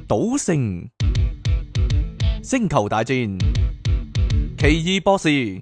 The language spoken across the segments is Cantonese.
賭聖、星球大戰、奇異博士，你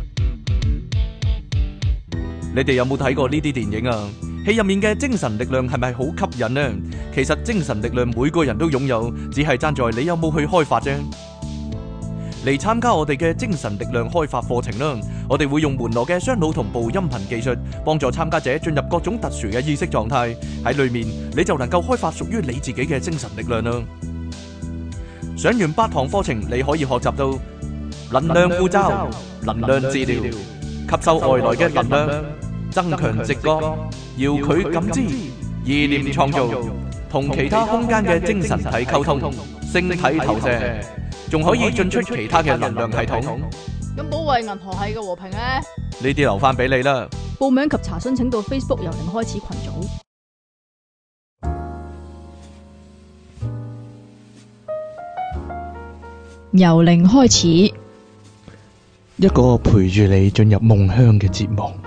哋有冇睇過呢啲電影啊？戲入面嘅精神力量係咪好吸引呢？其實精神力量每個人都擁有，只係爭在你有冇去開發啫。嚟參加我哋嘅精神力量開發課程啦！我哋會用門羅嘅雙腦同步音頻技術，幫助參加者進入各種特殊嘅意識狀態。喺裏面你就能夠開發屬於你自己嘅精神力量啦！上完8堂課程，你可以學習到能量護罩、能量治療、吸收外來嘅能量、增強直覺、遙距感知、意念創造、同其他空間嘅精神體溝通、星體投射，仲可以進出其他嘅能量系統。 咁保衛銀河系嘅和平咧？ 呢啲留翻俾你啦。 報名及查詢請到 Facebook 由零開始群組。由零開始， 一個陪住你進入夢鄉嘅節目。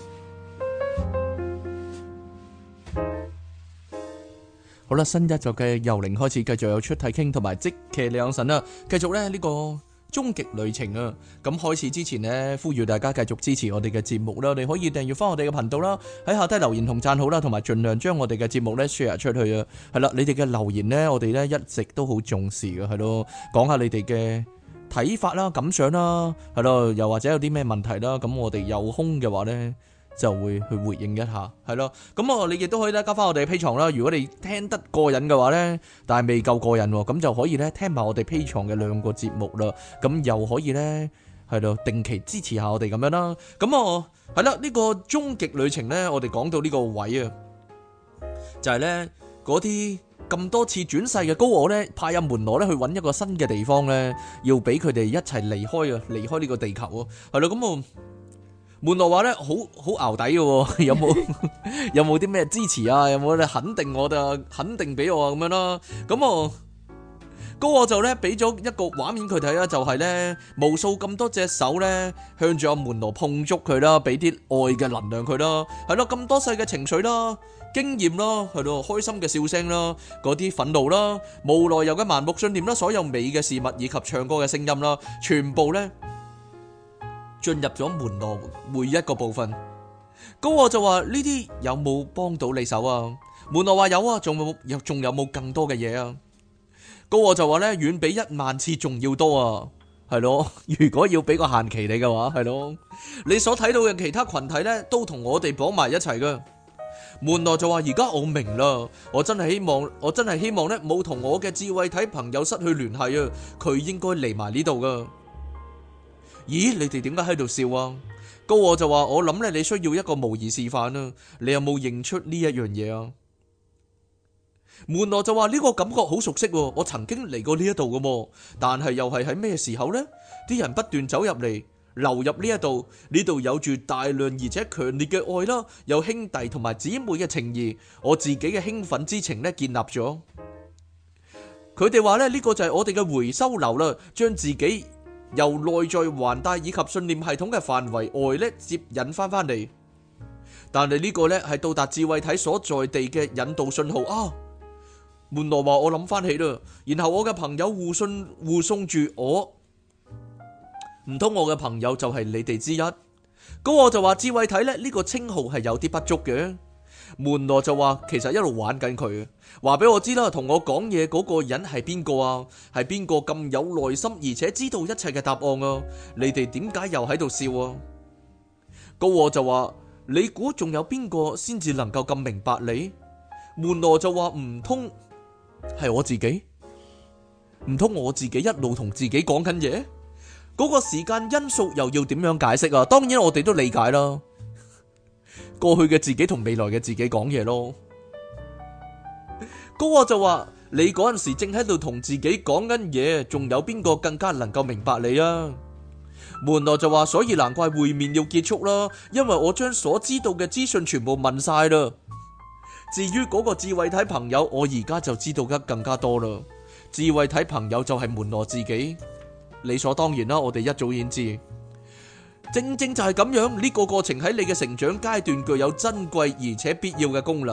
好啦，新一集嘅由零開始，繼續有出體傾同埋即騎兩神啦，繼續咧呢個終極旅程啊！咁開始之前呢，呼籲大家繼續支持我哋嘅節目啦，你可以訂閱翻我哋嘅頻道啦，喺下低留言同讚好啦，同埋盡量將我哋嘅節目咧 share 出去啊！係啦，你哋嘅留言呢，我哋咧一直都好重視嘅，係咯，講下你哋嘅睇法啦、感想啦，係咯，又或者有啲咩問題啦，咁我哋有空嘅話呢，就會去回應一下，係咯。咁你亦都可以咧加翻我哋 Patreon啦。如果你聽得過癮嘅話咧，但係未夠過癮喎，咁就可以咧聽埋我哋 Patreon嘅2個節目啦。咁又可以咧係咯定期支持下我哋咁樣啦。咁係啦，呢個終極旅程咧，我哋講到呢個位啊，就係咧嗰啲咁多次轉世嘅高我咧，派阿門羅咧去揾一個新嘅地方咧，要俾佢哋一齊離開啊，離開呢個地球啊，係咯。咁門羅話咧好淆底嘅，有冇啲咩支持啊？有冇咧肯定我哋肯定俾我啊咁樣啦？咁高我就咧俾咗一個畫面佢睇啦，就係咧無數咁多隻手咧向住阿門羅碰觸佢啦，俾啲愛嘅能量佢啦，係咯，咁多世嘅情緒啦、經驗啦，係咯，開心嘅笑聲啦，嗰啲憤怒啦、無來由嘅盲目信念啦，所有美嘅事物以及唱歌嘅聲音啦，全部咧進入咗門羅每一個部分。高我就話呢啲有冇幫到你手啊？門羅話有啊，仲有冇更多嘅嘢啊？高我就話咧遠比10000次仲要多啊，係咯。如果要俾個限期你嘅話，係咯，你所睇到嘅其他群體咧都同我哋綁埋一齊噶。門羅就話而家我明啦，我真係希望咧冇同我嘅智慧體朋友失去聯繫啊，佢應該嚟埋呢度噶。咦，你哋點解喺度笑啊？高我就話我諗咧，你需要一個模擬示範啊，你有冇認出呢一樣嘢啊？門羅就話呢個感覺好熟悉，我曾經嚟過呢一度噶，但係又係喺咩時候呢？啲人不斷走入嚟，流入呢一度，呢度有住大量而且強烈嘅愛啦，有兄弟同埋姊妹嘅情誼，我自己嘅興奮之情咧建立咗。佢哋話咧呢個就係我哋嘅回收流啦，將自己由內在環帶以及信念系統嘅範圍外咧接引翻嚟，但係呢個咧係到達智慧體所在地嘅引導信號啊！門羅話我諗翻起啦，然後我嘅朋友護送住我，唔通我嘅朋友就係你哋之一？咁我就話智慧體咧呢個稱號係有啲不足嘅。門羅就話其實一路玩緊佢，話俾我知啦，同我講嘢嗰個人係邊個啊？係邊個咁有耐心而且知道一切嘅答案啊？你哋點解又喺度笑啊？高我就話你估仲有邊個先至能夠咁明白你？門羅就話唔通係我自己？唔通我自己一路同自己講緊嘢？嗰個時間因素又要點樣解釋啊？當然我哋都理解啦。過去嘅自己同未來嘅自己講嘢咯。高我就話你嗰陣時正喺度同自己講緊嘢，仲有邊個更加能夠明白你啊？門羅就話所以難怪會面要結束啦，因為我將所知道嘅資訊全部問晒啦。至於嗰個智慧體朋友，我而家就知道得更加多啦。智慧體朋友就係門羅自己，理所當然啦，我哋一早已經知。正正就係咁樣，呢個過程喺你嘅成長階段具有珍貴而且必要嘅功能。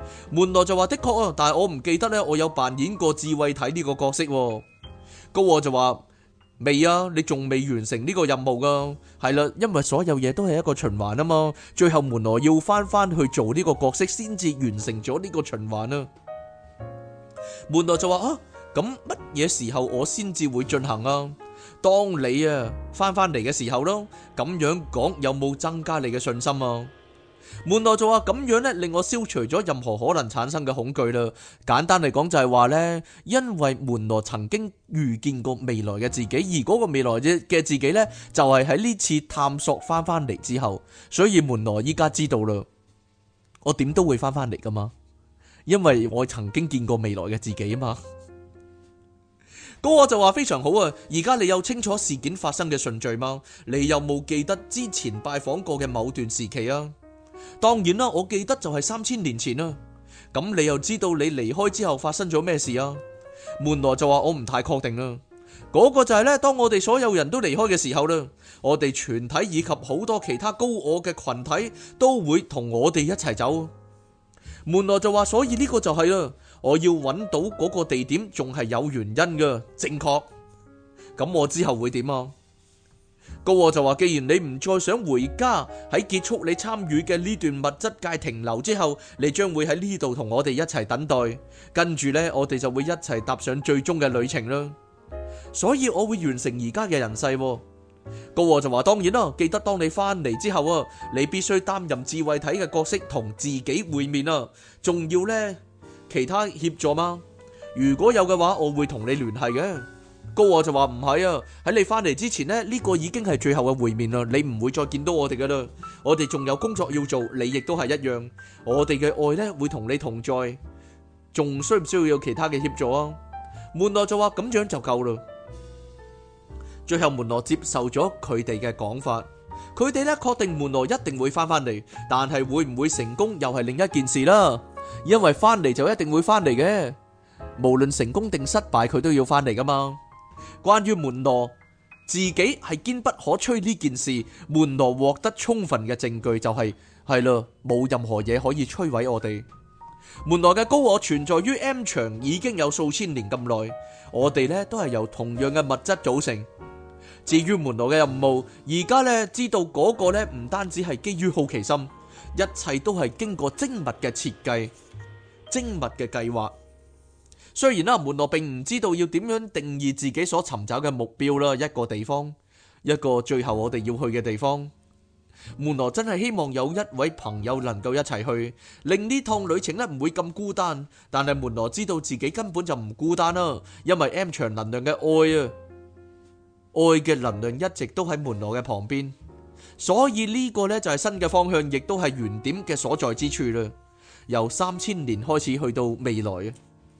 門羅就話的確啊，但係我唔記得呢，我有扮演過智慧體呢個角色喎。高我就話未啊，你仲未完成呢個任務噶。係啦，因為所有嘢都係一個循環啊嘛，最後門羅要翻去做呢個角色先至完成咗呢個循環啊。門羅就話啊，咁乜嘢時候我先至會進行啊？當你啊翻嚟嘅時候咯。咁樣講有冇增加你嘅信心啊？門羅就話咁樣呢，令我消除咗任何可能產生嘅恐懼啦。簡單嚟講就係話呢，因為門羅曾經預見過未來嘅自己，而嗰個未來嘅自己呢，就係喺呢次探索翻嚟之後，所以門羅依家知道啦，我點都會翻嚟噶嘛，因為我曾經見過未來嘅自己啊嘛。嗰個就話非常好啊，而家你有清楚事件發生嘅順序嗎？你有冇記得之前拜訪過嘅某段時期啊？當然啦，我記得就係3000年前啦。咁你又知道你離開之後發生咗咩事啊？門羅就話我唔太確定啦。嗰個就係呢，當我哋所有人都離開嘅時候啦，我哋全體以及好多其他高我嘅群體都會同我哋一齊走。門羅就話，所以呢個就係啦，我要揾到嗰個地點仲係有原因嘅，正確。咁我之後會點啊？高我就話，既然你唔再想回家，喺結束你參與嘅呢段物質界停留之後，你將會喺呢度同我哋一齊等待，跟住呢，我哋就會一齊踏上最終嘅旅程啦。所以我會完成而家嘅人世。高我就話，當然啦，記得當你翻嚟之後啊，你必須擔任智慧體嘅角色同自己會面啊，仲要呢其他協助嗎？如果有嘅話，我會同你聯繫嘅。高我就話唔係啊，喺你翻嚟之前呢，呢個已經係最後嘅會面啦，你唔會再見到我哋噶啦，我哋仲有工作要做，你亦都係一樣，我哋嘅愛呢會同你同在，仲需唔需要有其他嘅協助啊？門羅就話咁樣就夠啦。最後門羅接受咗佢哋嘅講法，佢哋呢確定門羅一定會翻嚟，但係會唔會成功又係另一件事啦。因為翻嚟就一定會翻嚟嘅，無論成功定失敗，佢都要翻嚟噶嘛。關於門羅自己係堅不可摧呢件事，門羅獲得充分嘅證據就係啦，冇任何嘢可以摧毀我哋。門羅嘅高我存在於 M 場已經有數千年咁耐，我哋呢都係由同樣嘅物質組成。至於門羅嘅任務，而家呢知道嗰個呢唔單止係基於好奇心，一切都係經過精密嘅設計、精密嘅計劃。雖然啦，門羅並唔知道要點樣定義自己所尋找嘅目標啦，一個地方，一個最後我哋要去嘅地方。門羅真係希望有一位朋友能夠一齊去，令呢趟旅程呢唔會咁孤單。但係門羅知道自己根本就唔孤單啦，因為 M 場能量嘅愛啊，愛嘅能量一直都喺門羅嘅旁邊，所以呢個呢就係新嘅方向，亦都係原點嘅所在之處啦。由3000年開始去到未來啊！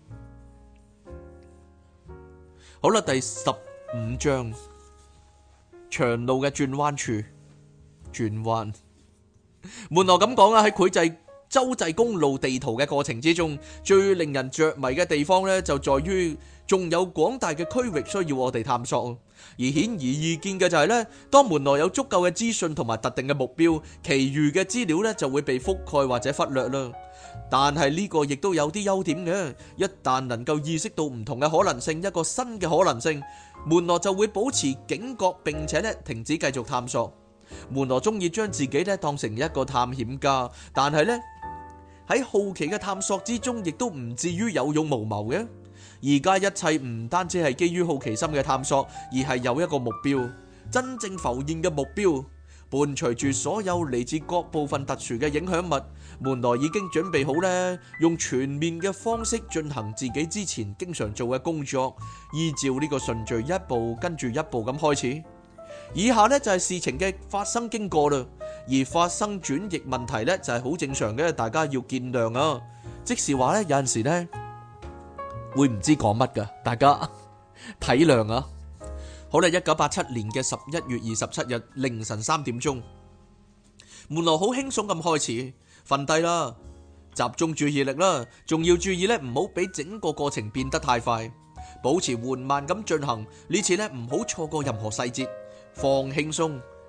好啦，第15章，長路嘅轉彎處，轉彎。門羅咁講啊，喺繪製洲際公路地圖嘅過程之中，最令人着迷嘅地方呢，就在於仲有廣大嘅區域需要我哋探索。而顯而易見嘅就係呢，當門羅有足夠嘅資訊同埋特定嘅目標，其餘嘅資料呢就會被覆蓋或者忽略啦。但係呢個亦都有啲優點嘅，一旦能夠意識到唔同嘅可能性，一個新嘅可能性，門羅就會保持警覺，並且呢停止繼續探索。門羅中意將自己呢當成一個探險家，但係呢喺好奇嘅探索之中，亦都唔至於有勇無謀嘅。而家一切唔單止係基於好奇心嘅探索，而係有一個目標，真正浮現嘅目標，伴隨住所有嚟自各部分特殊嘅影響物。門羅已經準備好呢，用全面嘅方式進行自己之前經常做嘅工作，依照呢個順序一步跟住一步咁開始。以下呢就係事情嘅發生經過啦，而發生轉譯問題呢就係好正常嘅，大家要見諒啊。即是話呢，有陣時呢會唔知講乜噶，大家體諒啊。好啦，1987年嘅11月27日凌晨3點鐘，門羅好輕鬆咁開始瞓低啦，集中注意力啦，仲要注意呢唔好俾整個過程變得太快，保持緩慢咁進行。呢次呢唔好錯過任何細節，放輕鬆，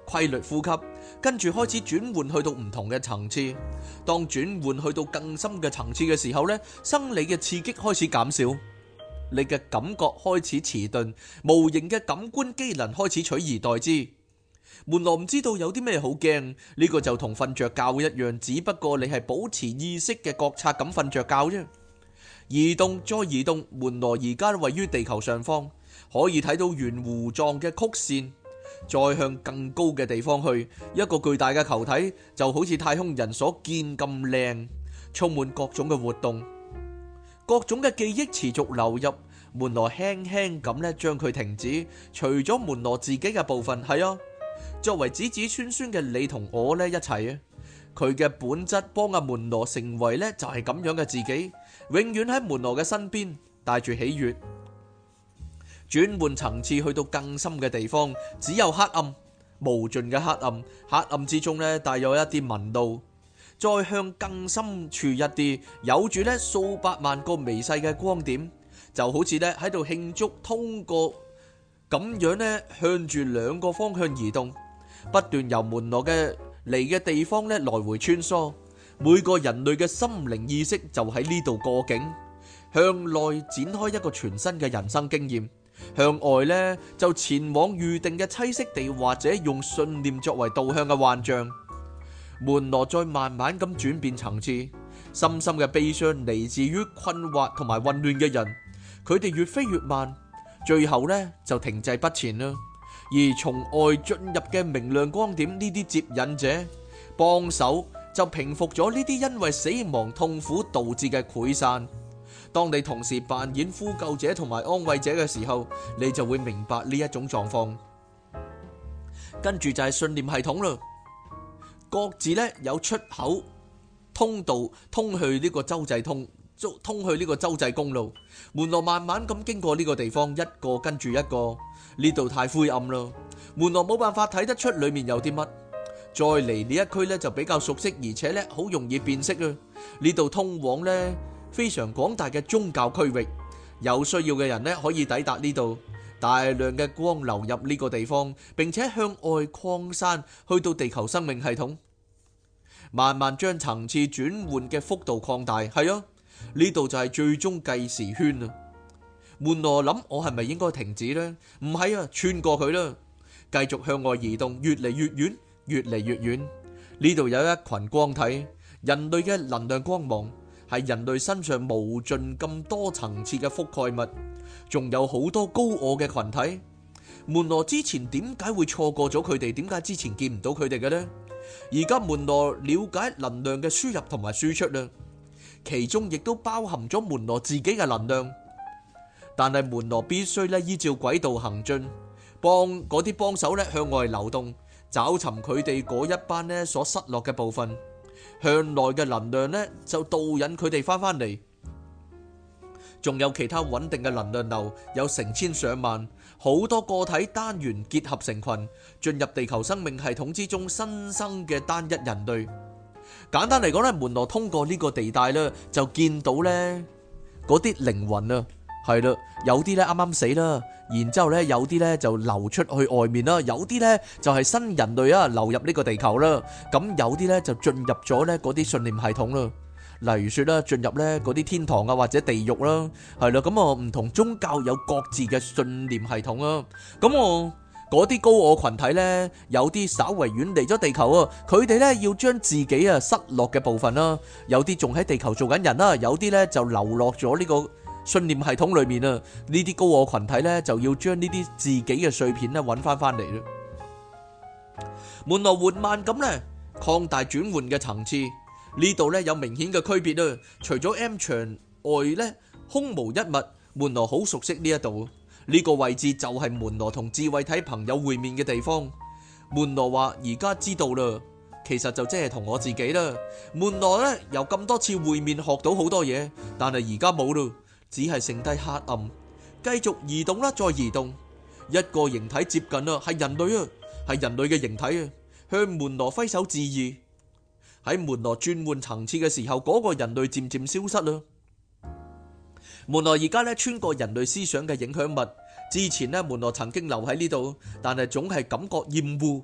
規律呼吸，跟住開始轉換去到唔同嘅層次。當轉換去到更深嘅層次嘅時候呢，生理嘅刺激開始減少，你嘅感覺開始遲鈍，無形嘅感官機能開始取而代之。門羅唔知道有啲咩好驚，呢個就同瞓着覺一樣，只不過你係保持意識嘅覺察咁瞓着覺啫。移動再移動，門羅而家位於地球上方，可以睇到圓弧狀嘅曲線，再向更高嘅地方去，一個巨大嘅球體就好似太空人所見咁靚，充滿各種嘅活動，各種嘅記憶持續流入。門羅輕輕咁咧將佢停止，除咗門羅自己嘅部分，係啊，作為子子孫孫嘅你同我咧一齊啊，佢嘅本質幫阿門羅成為咧就係咁樣嘅自己，永遠喺門羅嘅身邊，帶住喜悅。轉換層次去到更深嘅地方，只有黑暗，無盡嘅黑暗，黑暗之中咧帶有一啲紋路，再向更深處一啲，有住咧數百萬個微細嘅光點，就好似咧喺度慶祝通過咁樣咧向住兩個方向移動，不斷由門羅嘅嚟嘅地方咧來回穿梭。每個人類嘅心靈意識就喺呢度過境，向內展開一個全新嘅人生經驗。向外呢，就前往預定嘅棲息地，或者用信念作為導向嘅幻象。門羅再慢慢咁轉變層次，深深嘅悲傷嚟自於困惑同埋混亂嘅人，佢哋越飛越慢，最後呢就停滯不前啦。而從外進入嘅明亮光點，呢啲接引者幫手就平復咗呢啲因為死亡痛苦導致嘅潰散。當你同時扮演呼救者同埋安慰者嘅時候，你就會明白呢一種狀況。跟住就係信念系統啦，各自呢有出口通道通去呢個洲際通去呢個洲際公路。門羅慢慢咁經過呢個地方，一個跟住一個。呢度太灰暗啦，門羅冇辦法睇得出裏面有啲乜。再嚟呢一區呢就比較熟悉，而且呢好容易辨識啊。呢度通往呢非常廣大嘅宗教區域，有需要嘅人呢可以抵達呢度。大量嘅光流入呢個地方，並且向外擴散去到地球生命系統，慢慢將層次轉換嘅幅度擴大。係啊，呢度就係最終計時圈啊。門羅諗，我係咪應該停止呢？唔係啊，穿過佢啦，繼續向外移動，越嚟越遠，越嚟越遠。呢度有一群光體，人類嘅能量光芒，係人類身上無盡咁多層次嘅覆蓋物，仲有好多高我嘅群體。門羅之前點解會錯過咗佢哋？點解之前見唔到佢哋嘅呢？而家門羅了解能量嘅輸入同埋輸出啦，其中亦都包含咗門羅自己嘅能量。但係門羅必須咧依照軌道行進，幫嗰啲幫手咧向外流動，找尋佢哋嗰一班咧所失落嘅部分。向內嘅能量咧就導引佢哋翻返嚟。仲有其他穩定嘅能量流，有成千上萬，好多個體單元結合成群，進入地球生命系統之中新生嘅單一人類。簡單嚟講咧，門羅通過呢個地帶咧，就見到咧嗰啲靈魂啊。係啦，有啲咧啱啱死啦，然之後咧有啲咧就流出去外面啦，有啲咧就係新人類啊流入呢個地球啦，咁有啲咧就進入咗咧嗰啲信念系統啦，例如說啦進入咧嗰啲天堂啊或者地獄啦，係啦，咁唔同宗教有各自嘅信念系統啊，咁嗰啲高我群體咧有啲稍為遠離咗地球啊，佢哋咧要將自己啊失落嘅部分啦，有啲仲喺地球做緊人啦，有啲咧就流落咗呢個信念系統裏面啊，呢啲高我群體咧就要將呢啲自己嘅碎片咧揾翻嚟啦。門羅緩慢咁咧擴大轉換嘅層次，呢度咧有明顯嘅區別啊。除咗 M 牆外咧空無一物，門羅好熟悉呢一度，呢個位置就係門羅同智慧體朋友會面嘅地方。門羅話而家知道啦，其實就即係同我自己啦。門羅咧由咁多次會面學到好多嘢，但係而家冇啦。只係剩低黑暗，繼續移動啦，再移動，一個形體接近啦，係人類啊，係人類嘅形體啊，向門羅揮手致意。喺門羅轉換層次嘅時候，嗰個人類漸漸消失啦。門羅而家咧穿過人類思想嘅影響物，之前咧門羅曾經留喺呢度，但係總係感覺厭惡，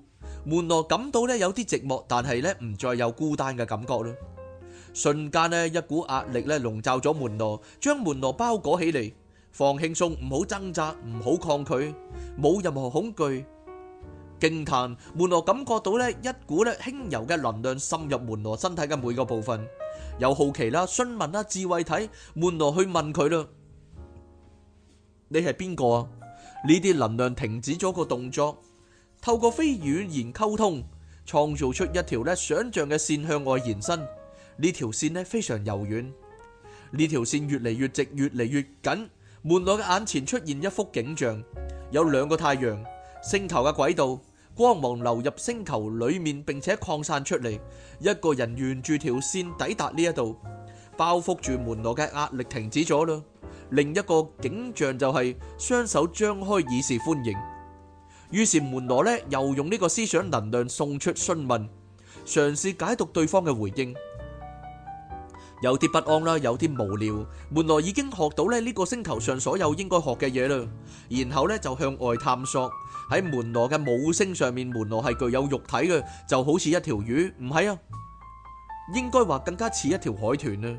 門羅感到咧有啲寂寞，但係咧唔再有孤單嘅感覺啦。瞬間咧一股壓力咧籠罩咗門羅，將門羅包裹起嚟。放輕鬆，唔好掙扎，唔好抗拒，冇任何恐懼。驚嘆，門羅感覺到咧一股咧輕柔嘅能量滲入門羅身體嘅每個部分。有好奇啦、詢問啦、智慧體，門羅去問佢啦：你係邊個啊？呢啲能量停止咗個動作，透過非語言溝通，創造出一條咧想象嘅線向外延伸。呢條線咧非常柔軟，呢條線越嚟越直，越嚟越緊。門羅嘅眼前出現一幅景象，有兩個太陽、星球嘅軌道，光芒流入星球裏面，並且擴散出嚟。一個人沿住條線抵達呢一度，包覆住門羅嘅壓力停止咗啦。另一個景象就係雙手張開以示歡迎。於是門羅呢又用呢個思想能量送出詢問，嘗試解讀對方嘅回應。有啲不安啦，有啲無聊。門羅已經學到咧呢個星球上所有應該學嘅嘢啦，然後咧就向外探索。喺門羅嘅母星上面，門羅係具有肉體嘅，就好似一條魚，唔係啊，應該話更加似一條海豚啊。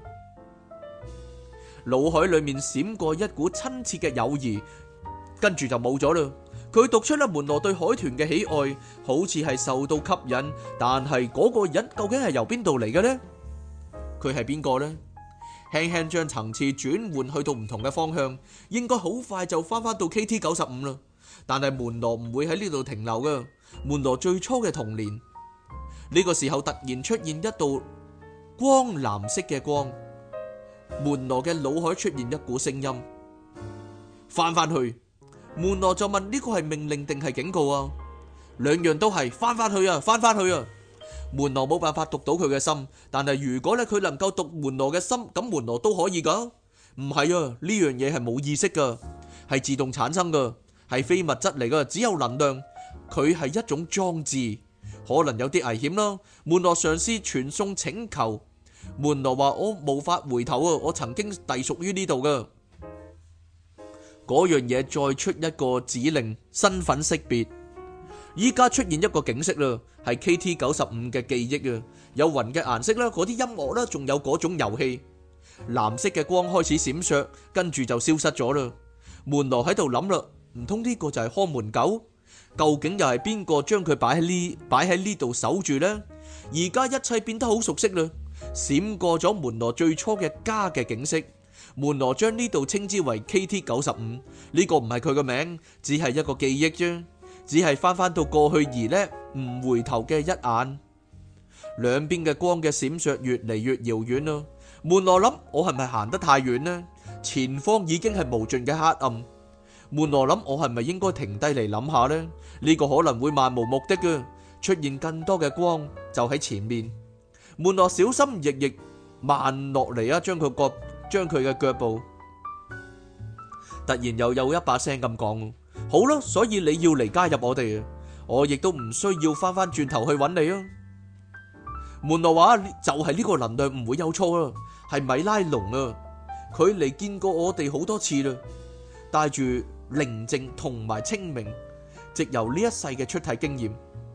腦海裏面閃過一股親切嘅友誼，跟住就冇咗啦。佢讀出啦門羅對海豚嘅喜愛，好似係受到吸引，但係嗰個人究竟係由邊度嚟嘅呢？佢係邊個呢？輕輕將層次轉換去到唔同嘅方向，應該好快就翻返到 KT-95啦。但係門羅唔會喺呢度停留噶。門羅最初嘅童年，呢個時候突然出現一道光藍色嘅光，門羅嘅腦海出現一股聲音，翻返去。門羅就問呢個係命令定係警告啊？兩樣都係，翻返去啊，翻返去啊！門羅冇辦法讀到佢嘅心，但係如果咧佢能夠讀門羅嘅心，咁門羅都可以噶。唔係啊，呢樣嘢係冇意識噶，係自動產生噶，係非物質嚟噶，只有能量。佢係一種裝置，可能有啲危險啦。門羅嘗試傳送請求，門羅話我無法回頭啊，我曾經隸屬於呢度噶。嗰樣嘢再出一個指令，身份識別。依家出現一個景色啦，係 KT-95嘅記憶啊，有雲嘅顏色啦，嗰啲音樂啦，仲有嗰種遊戲。藍色嘅光開始閃爍，跟住就消失咗啦。門羅喺度諗啦，唔通呢個就係看門狗？究竟又係邊個將佢擺喺呢度守住呢？而家一切變得好熟悉啦，閃過咗門羅最初嘅家嘅景色。門羅將呢度稱之為 KT-95，呢個唔係佢個名，只係一個記憶啫。只係翻到過去而呢唔回頭嘅一眼，兩邊嘅光嘅閃爍越嚟越遙遠啦。門羅諗，我係咪行得太遠呢？前方已經係無盡嘅黑暗。門羅諗，我係咪應該停低嚟諗下呢？呢個可能會漫無目的嘅，出現更多嘅光就喺前面。門羅小心翼翼慢落嚟啊，將佢嘅腳步。突然又有一把聲咁講。好啦，所以你要嚟加入我哋啊！我亦都唔需要翻轉頭去揾你啊！門羅話就係呢個能量唔會有錯啦，係米拉龍啊！佢嚟見過我哋好多次啦，帶住寧靜同埋清明，藉由呢一世嘅出體經驗。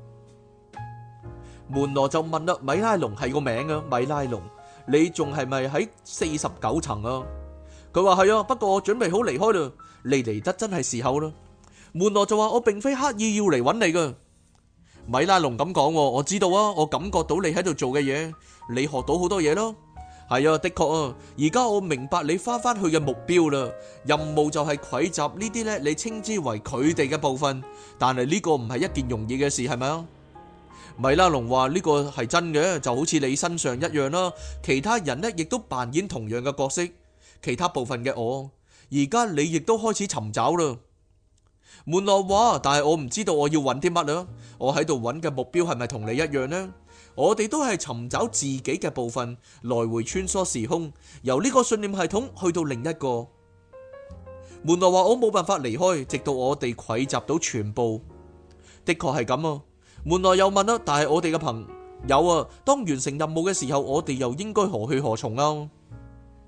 門羅就問啦：米拉龍係個名啊，米拉龍，你仲係咪喺49層啊？佢話係啊，不過我準備好離開啦，你嚟得真係時候啦。門羅就話：我並非刻意要嚟揾你噶。米拉龍咁講，我知道啊，我感覺到你喺度做嘅嘢，你學到好多嘢咯。係啊，的確啊，而家我明白你翻返去嘅目標啦。任務就係匯集呢啲呢，你稱之為佢哋嘅部分，但係呢個唔係一件容易嘅事，係咪啊？米拉龍話：呢個係真嘅，就好似你身上一樣啦。其他人呢亦都扮演同樣嘅角色，其他部分嘅我，而家你亦都開始尋找啦。門羅話：但係我唔知道我要揾啲乜啊！我喺度揾嘅目標係咪同你一樣呢？我哋都係尋找自己嘅部分，來回穿梭時空，由呢個信念系統去到另一個。門羅話：我冇辦法離開，直到我哋匯集到全部。的確係咁啊！門羅又問啦：但係我哋嘅朋友啊，當完成任務嘅時候，我哋又應該何去何從啊？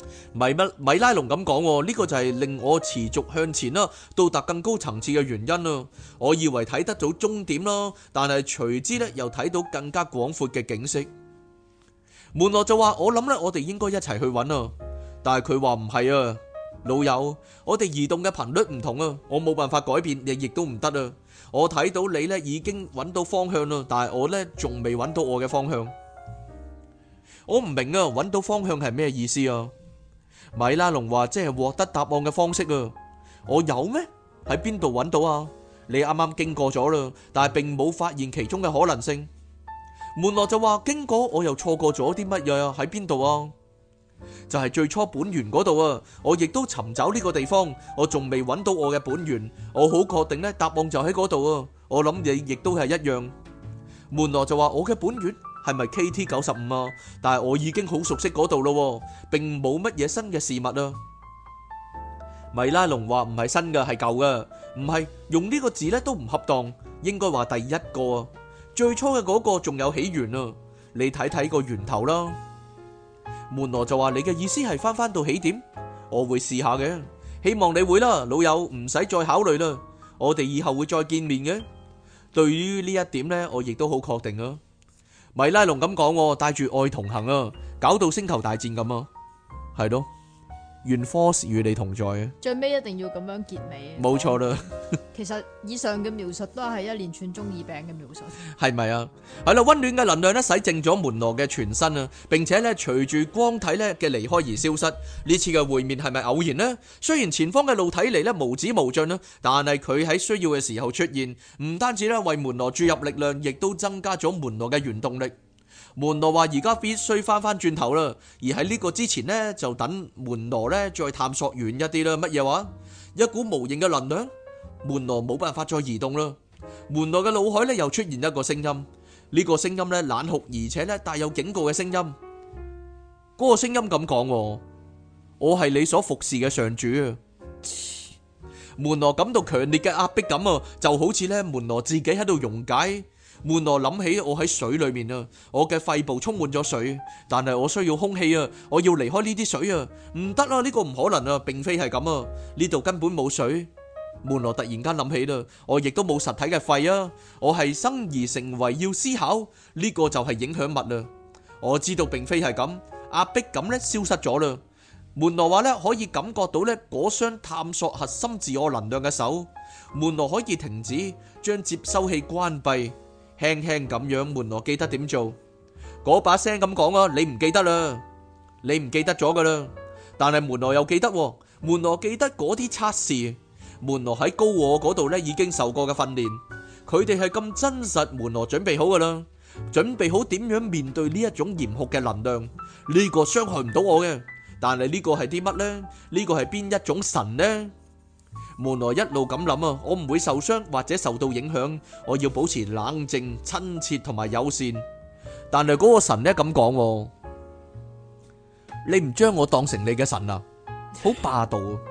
米拉龍咁講喎，呢個就係令我持續向前啦，到達更高層次嘅原因啦。我以為睇得到終點啦，但係隨之咧又睇到更加廣闊嘅景色。門羅就話：我諗咧，我哋應該一齊去揾啊。但係佢話唔係啊，老友，我哋移動嘅頻率唔同啊，我冇辦法改變，亦都唔得啊。我睇到你咧已經揾到方向啦，但係我咧仲未揾到我嘅方向。我唔明啊，揾到方向係咩意思啊？米拉龍話：即係獲得答案嘅方式啊。我有咩？喺邊度揾到啊？你啱啱經過咗啦，但係並冇發現其中嘅可能性。門羅就話：經過我又錯過咗啲乜嘢啊？喺邊度啊？就係最初本源嗰度啊！我亦都尋找呢個地方，我仲未揾到我嘅本源。我好確定呢，答案就喺嗰度啊！我諗你亦都係一樣。門羅就話：我嘅本源係咪 KT95啊？但係我已經好熟悉嗰度咯，並冇乜嘢新嘅事物啊。米拉龍話：唔係新嘅，係舊嘅。唔係，用呢個字呢都唔恰當，應該話第一個啊。最初嘅嗰個仲有起源啊，你睇睇個源頭啦。門羅就話：你嘅意思係翻到起點？我會試下嘅，希望你會啦，老友，唔使再考慮啦，我哋以後會再見面嘅。對於呢一點呢，我亦都好確定啊。米拉龍咁講，帶住愛同行啊，搞到星球大戰咁啊，係咯，願 Force 與你同在啊。 最尾一定要咁樣結尾。 冇錯啦。 其實以上嘅描述都係一連串中二病嘅描述， 係咪啊？係啦，溫暖嘅能量咧洗淨咗門羅嘅全身啊，並且咧隨住光體咧嘅離開而消失。呢次嘅會面係咪偶然呢？雖然前方嘅路睇嚟咧無止無盡啦，但係佢喺需要嘅時候出現，唔單止咧為門羅注入力量，亦都增加咗門羅嘅原動力。門羅話：而家必須翻轉頭啦，而喺呢個之前呢，就等門羅咧再探索遠一啲啦。乜嘢話？一股無形嘅能量。門羅冇辦法再移動啦。門羅嘅腦海咧又出現一個聲音，呢個聲音咧冷酷而且咧帶有警告嘅聲音。嗰個聲音咁講：我係你所服侍嘅上主啊！門羅感到強烈嘅壓迫感啊，就好似咧門羅自己喺度溶解。門羅諗起我喺水裏面啊，我嘅肺部充滿咗水，但係我需要空氣啊，我要離開呢啲水啊，唔得啊，呢個唔可能啊，並非係咁啊，呢度根本冇水。門羅突然間諗起啦，我亦都冇實體嘅肺啊，我係生而成為要思考，呢個就係影響物啦。我知道並非係咁，壓迫感咧消失咗啦。門羅話咧可以感覺到咧嗰雙探索核心自我能量嘅手，門羅可以停止，將接收器關閉，輕輕咁樣。門羅記得點做，嗰把聲咁講啊，你唔記得啦，你唔記得咗噶啦，但係門羅又記得，門羅記得嗰啲測試。門羅喺高我嗰度咧已經受過嘅訓練，佢哋係咁真實。門羅準備好噶啦，準備好點樣面對呢一種嚴酷嘅能量。呢個傷害唔到我嘅，但係呢個係啲乜呢？呢個係邊一種神呢？門羅一路咁諗啊，我唔會受傷或者受到影響，我要保持冷靜、親切同埋友善。但係嗰個神咧咁講，你唔將我當成你嘅神啊，好霸道啊！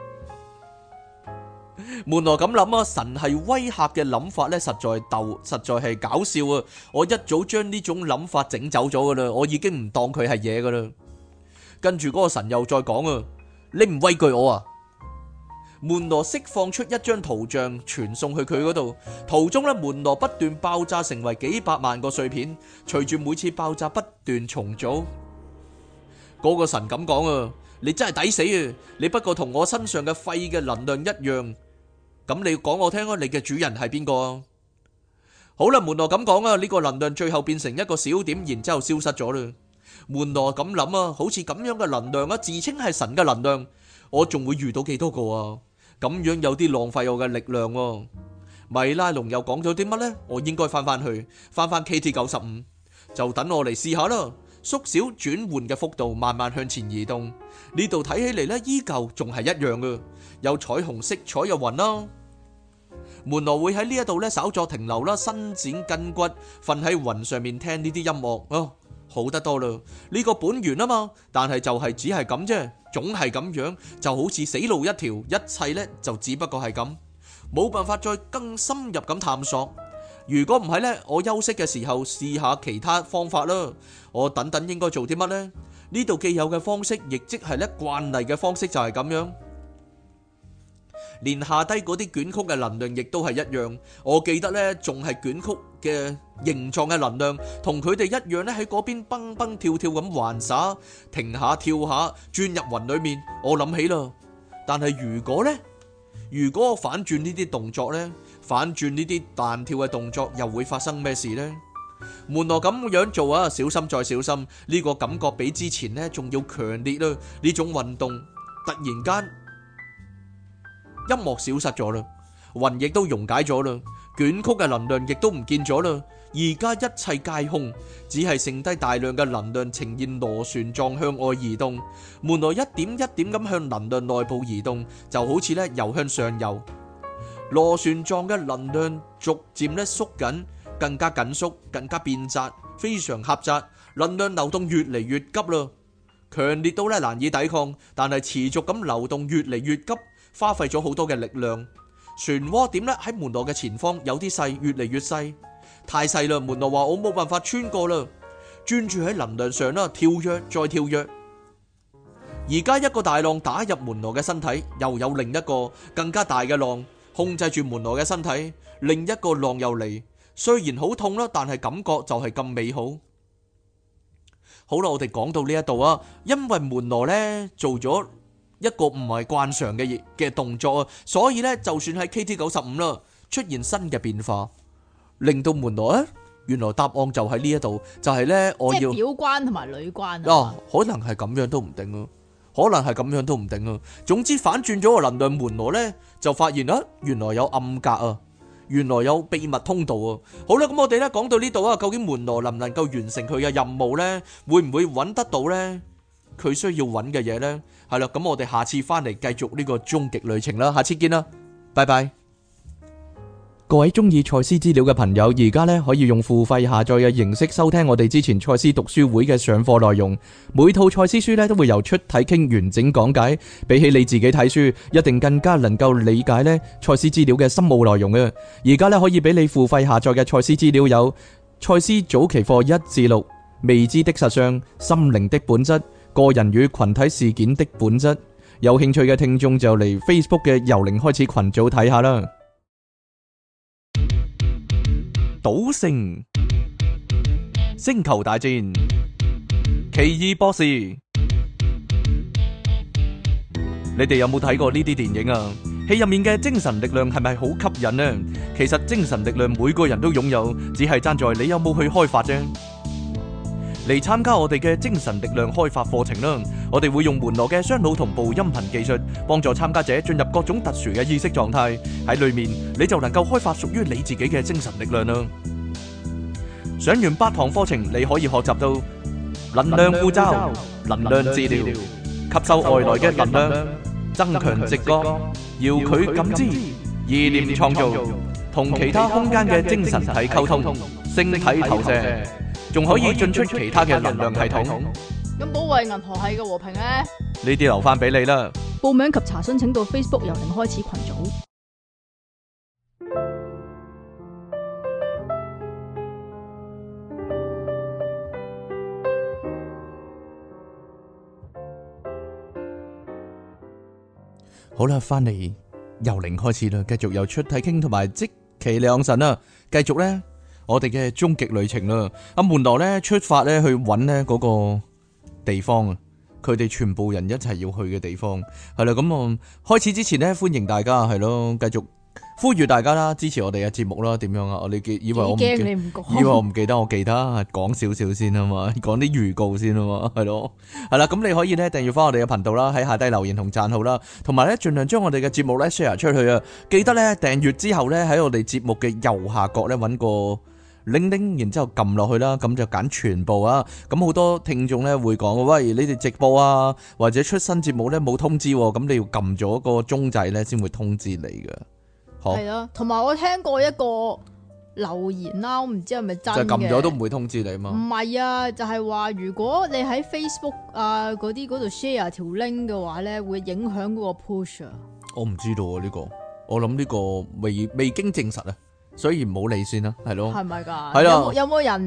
門羅咁諗啊，神係威嚇嘅諗法咧，實在係搞笑啊！我一早將呢種諗法整走咗噶啦，我已經唔當佢係嘢噶啦。跟住嗰個神又再講啊，你唔畏懼我啊！門羅釋放出一張圖像，傳送去佢嗰度。途中咧，門羅不斷爆炸，成為幾百萬個碎片，隨住每次爆炸不斷重組。嗰個神咁講啊，你真係抵死啊！你不過同我身上嘅肺嘅能量一樣。咁你講我聽啊，你嘅主人係邊個啊？好啦，門羅咁講啊，呢個能量最後變成一個小點，然之後消失咗啦。門羅咁諗啊，好似咁樣嘅能量啊，自稱係神嘅能量，我仲會遇到幾多個啊？咁樣有啲浪費我嘅力量喎。米拉龍又講咗啲乜呢？我應該翻返 KT95，就等我嚟試下啦。縮小轉換嘅幅度，慢慢向前移動。呢度睇起嚟呢，依舊仲係一樣嘅，有彩虹色彩嘅雲啦。門羅會喺呢一度呢稍作停留啦，伸展筋骨，瞓喺雲上面聽呢啲音樂哦，好得多啦。呢個本源啊嘛，但係就係只係咁啫，總係咁樣，就好似死路一條，一切呢就只不過係咁，冇辦法再更深入咁探索。如果唔係呢，我休息嘅時候試下其他方法啦。我等等應該做啲乜呢？ 呢度既有嘅方式，亦即係咧慣例嘅方式就係咁樣。連下低嗰啲捲曲嘅能量亦都係一樣。我記得呢仲係捲曲嘅形狀嘅能量，同佢哋一樣呢喺嗰邊蹦蹦跳跳咁玩耍，停下跳下，轉入雲裏面。我諗起啦，但係如果我反轉呢啲動作呢，反轉呢啲彈跳嘅動作，又會發生咩事呢？門羅咁樣做啊，小心再小心，呢個感覺比之前呢仲要強烈啦。呢種運動突然間，音樂消失咗啦，雲亦都溶解咗啦，捲曲嘅能量亦都唔見咗啦。而家一切皆空，只係剩低大量嘅能量呈現螺旋狀向外移動。門羅一點一點咁向能量內部移動，就好似咧游向上游。螺旋狀嘅能量逐漸咧縮緊，更加緊縮，更加變窄，非常狹窄。能量流動越嚟越急啦，強烈到咧難以抵抗，但係持續咁流動越嚟越急，花費咗好多嘅力量。漩渦點咧喺門羅嘅前方有啲細，越嚟越細，太細啦。門羅話我冇辦法穿過啦，專注喺能量上啦，跳躍再跳躍。而家一個大浪打入門羅嘅身體，又有另一個更加大嘅浪控制住門羅嘅身體，另一個浪又嚟，雖然好痛啦，但係感覺就係咁美好。好啦，我哋講到呢一度啊，因為門羅呢做咗一個唔係慣常嘅動作啊，所以呢就算喺 KT95啦出現新嘅變化，令到門羅原來答案就喺呢一度，就係呢我要即係表關同埋女關啊，可能係咁樣都唔定啊，可能係咁樣都唔定啊。總之反轉咗個能量，門羅呢就發現啊，原來有暗格啊，原來有秘密通道啊。好啦，咁我哋呢講到呢度啊，究竟門羅能唔能夠完成佢嘅任務呢？會唔會揾得到呢佢需要揾嘅嘢呢？係啦，咁我哋下次翻嚟繼續呢個終極旅程啦，下次見啦，拜拜。各位中意賽斯資料嘅朋友，而家呢可以用付費下載嘅形式收聽我哋之前賽斯讀書會嘅上課內容。每套賽斯書呢都會由出體傾完整講解，比起你自己睇書，一定更加能夠理解呢賽斯資料嘅深奧內容啊！而家呢可以俾你付費下載嘅賽斯資料有賽斯早期課1至6、未知的實相、心靈的本質、個人與群體事件的本質。有興趣嘅聽眾就嚟 Facebook 嘅由零開始群組睇下啦。賭聖、星球大戰、奇異博士，你哋有冇睇過呢啲電影啊？戲入面嘅精神力量係咪好吸引呢？其實精神力量每個人都擁有，只係爭在你有冇去開發啫。嚟參加我哋嘅精神力量開發課程啦！我哋會用門羅嘅雙腦同步音頻技術，幫助參加者進入各種特殊嘅意識狀態。喺裏面你就能夠開發屬於你自己嘅精神力量啦！上完8堂課程，你可以學習到能量護罩、能量治療、吸收外來嘅能量、增強直覺、遙距感知、意念創造、同其他空間嘅精神體溝通、星體投射，仲可以進出其他嘅能量系統。 咁保衛銀河系嘅和平咧？ 呢啲留翻俾你啦。 報名及查詢請到 Facebook 由零開始群組。 好啦，翻嚟由零開始啦，繼續由出體傾同埋即其兩神啦，繼續咧我哋嘅終極旅程啦。阿門羅咧出發咧去揾咧嗰個地方啊，佢哋全部人一齊要去嘅地方係啦。咁我開始之前咧，歡迎大家係咯，繼續呼籲大家啦，支持我哋嘅節目啦。點樣啊？我哋以為我唔記得，以為我唔記得，我記得講少少先啊嘛，講啲預告先啊嘛，係咯，係啦。咁你可以咧訂閱翻我哋嘅頻道啦，喺下低留言同讚好啦，同埋咧盡量將我哋嘅節目咧 share 出去啊。記得咧訂閱之後咧喺我哋節目嘅右下角咧揾個鈴鈴，然之後撳落去啦，咁就揀全部啊。咁好多聽眾咧會講，喂，你哋直播啊或者出新節目咧冇通知，咁你要撳咗個鐘仔咧先會通知你噶。 係咯，同埋我聽過一個留言啦，我唔知係咪真嘅， 就撳咗都唔會通知你嘛。 唔係啊，就係話如果你喺 Facebook 啊嗰度 share 條 link 嘅話咧，會影響嗰個 push 啊。我唔知道啊呢個，我諗呢個未經證實啊，所以唔好理先啦，係咯。 係咪噶？ 係啦。 有冇人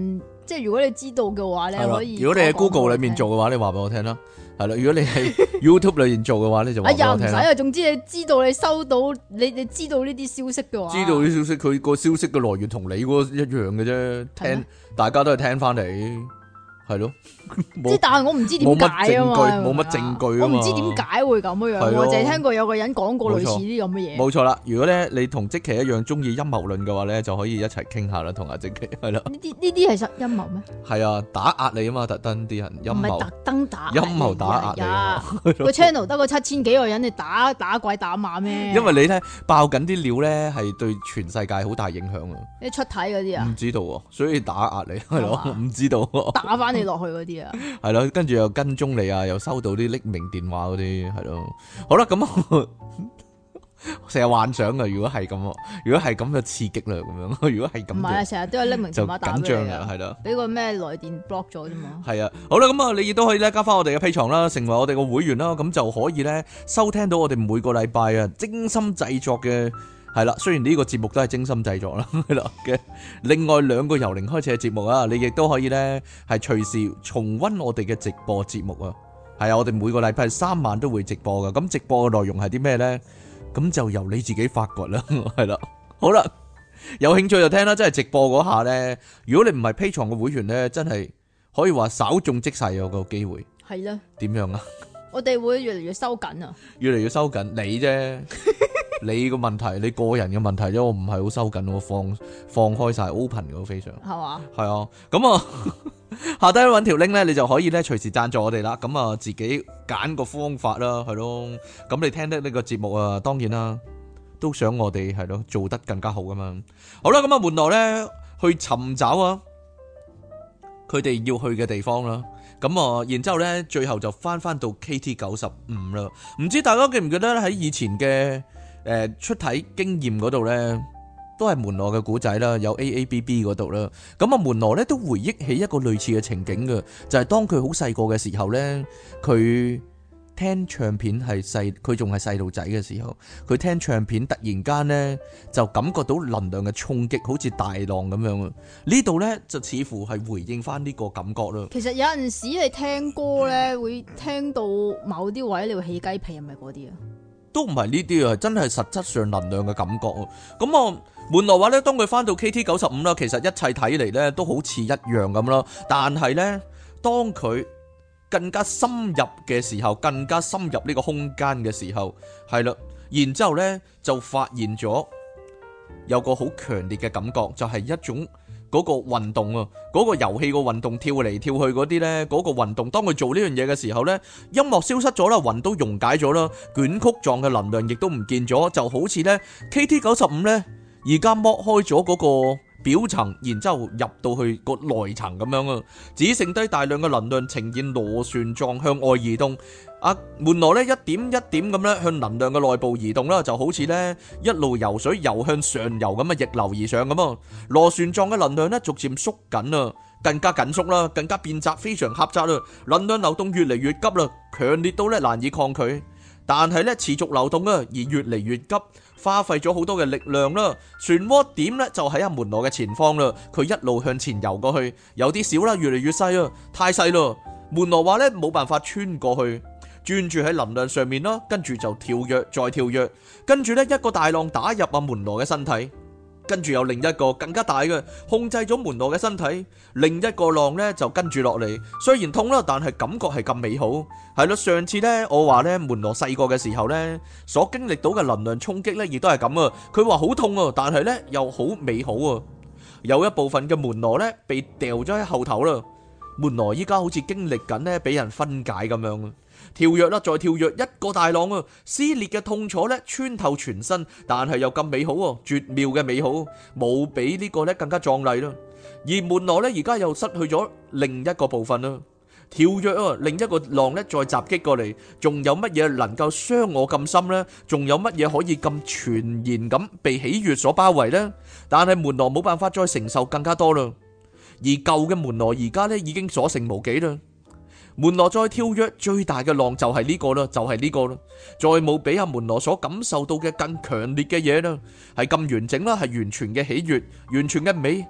即係如果你知道嘅話咧， 係啦可以。 如果你喺 Google 裏面做嘅話，你話俾我聽啦。係啦，如果你喺 YouTube 裏面做嘅話，你就話俾哎呀， 我聽啦。 唔使啊，總之你知道你收到你知道呢啲消息嘅話， 知道啲消息，佢個消息嘅來源同你嗰個一樣嘅啫， 係咩聽大家都係聽翻嚟，係咯， 即係但係我唔知點解啊嘛， 冇乜證據啊嘛我唔知點解會咁樣樣， 係咯我淨係聽過有個人講過類似啲咁嘅嘢。 冇錯啦。如果咧你同積奇一樣中意陰謀論嘅話咧，就可以一齊傾下啦，同阿積奇係啦， 呢啲係實陰謀咩？ 係啊，打壓你啊嘛，特登啲人陰謀唔係特登打陰謀打壓你啊啊！個 channel 得個7000幾個人，你打鬼打馬咩？ 因為你咧爆緊啲料咧，係對全世界好大影響啊！ 你出體嗰啲啊唔，知道喎，所以打壓你係咯， 係嘛唔知道喎。 打翻你落去嗰啲啊， 係咯，跟住又跟蹤你啊，又收到啲匿名電話嗰啲，係咯。好啦，咁成日幻想啊，如果係咁，如果係咁就刺激啦，咁樣。如果係唔係啊， 咁成日都有匿名就電話打緊俾你啊，， 張啊係啦。 俾個咩來電 block 咗啫嘛。 係啊，好啦，咁啊，你亦都可以咧加翻我哋嘅 P 床啦，成為我哋個會員啦，咁就可以咧收聽到我哋每個禮拜啊精心製作嘅係啦。雖然呢個節目都係精心製作啦，係啦嘅另外2個由零開始嘅節目啊，你亦都可以咧係隨時重溫我哋嘅直播節目啊。係啊，我哋每個禮拜3晚都會直播噶，咁直播嘅內容係啲咩咧？咁就由你自己發掘啦，係啦。好啦，有興趣就聽啦，真係直播嗰下咧，如果你唔係 P 床嘅會員咧，真係可以話稍縱即逝有個機會。 係啦， 點樣啊？ 我哋會越嚟越收緊啊。 越嚟越收緊你啫，你個問題，你個人嘅問題啫，我唔係好收緊，我放開晒 open 嘅非常。 係嘛？ 係啊，咁啊下低揾條 link 咧，你就可以咧隨時贊助我哋啦。咁啊自己揀個方法啦，係咯。咁你聽得呢個節目啊，當然啦，都想我哋係咯做得更加好噶嘛。好啦，咁啊門羅咧去尋找啊佢哋要去嘅地方啦。咁啊，然之後咧，最後就翻到 KT95啦。唔知大家記唔記得喺以前嘅出體經驗嗰度咧？都係門羅嘅古仔啦，有 AABB 嗰度啦。咁啊，門羅咧都回憶起一個類似嘅情景嘅，就係當佢好細個嘅時候咧，佢聽唱片係佢仲係細路仔嘅時候，佢聽唱片突然間咧就感覺到能量嘅衝擊，好似大浪咁樣啊！呢度咧就似乎係回應翻呢個感覺啦。 其實有陣時你聽歌咧，會聽到某啲位你會起雞皮，係咪嗰啲啊？ 都唔係呢啲啊，真係實質上能量嘅感覺啊！咁啊，門羅話咧，當佢翻到 KT95啦，其實一切睇嚟咧都好似一樣咁啦。但係咧，當佢更加深入嘅時候，更加深入呢個空間嘅時候，係啦，然之後咧就發現咗有個好強烈嘅感覺，就係一種嗰個運動啊，嗰個遊戲個運動跳嚟跳去嗰啲呢，嗰個運動，當佢做呢樣嘢嘅時候呢，音樂消失咗啦，雲都溶解咗啦，捲曲狀嘅能量亦都唔見咗，就好似呢 KT95呢，而家剝開咗嗰個表層，然之後入到去個內層咁樣啊，只剩低大量嘅能量呈現螺旋狀向外移動。門羅咧一點一點咁咧向能量嘅內部移動啦，就好似咧一路游水游向上游咁啊，逆流而上咁啊。螺旋狀嘅能量咧逐漸縮緊啊，更加緊縮啦，更加變窄，非常狹窄啦。能量流動越嚟越急啦，強烈到咧難以抗拒，但係咧持續流動啊，而越嚟越急，花費咗好多嘅力量啦。漩渦點咧就喺阿門羅嘅前方啦，佢一路向前游過去，有啲少啦，越嚟越細啊，太細啦。門羅話咧冇辦法穿過去。專注喺能量上面啦，跟住就跳躍，再跳躍，跟住呢一個大浪打入阿門羅嘅身體，跟住有另一個更加大嘅控制咗門羅嘅身體，另一個浪呢就跟住落嚟，雖然痛啦，但係感覺係咁美好。係咯，上次呢我話呢門羅細個嘅時候呢，所經歷到嘅能量衝擊呢亦都係咁啊，佢話好痛啊，但係呢又好美好啊。有一部分嘅門羅呢被掉咗喺後頭啦，門羅依家好似經歷緊呢俾人分解咁樣啊。跳躍啦，再跳躍，一個大浪啊！撕裂嘅痛楚咧穿透全身，但係又咁美好喎，絕妙嘅美好，冇比呢個咧更加壯麗啦。而門羅咧而家又失去咗另一個部分啦。跳躍啊，另一個浪咧再襲擊過嚟，仲有乜嘢能夠傷我咁深呢？仲有乜嘢可以咁全然咁被喜悅所包圍呢？但係門羅冇辦法再承受更加多啦。而舊嘅門羅而家咧已經所剩無幾啦。門羅再跳躍，最大嘅浪就係呢個啦，就係呢個啦，再冇比阿門羅所感受到嘅更強烈嘅嘢啦，係咁完整啦，係完全嘅喜悅，完全嘅美，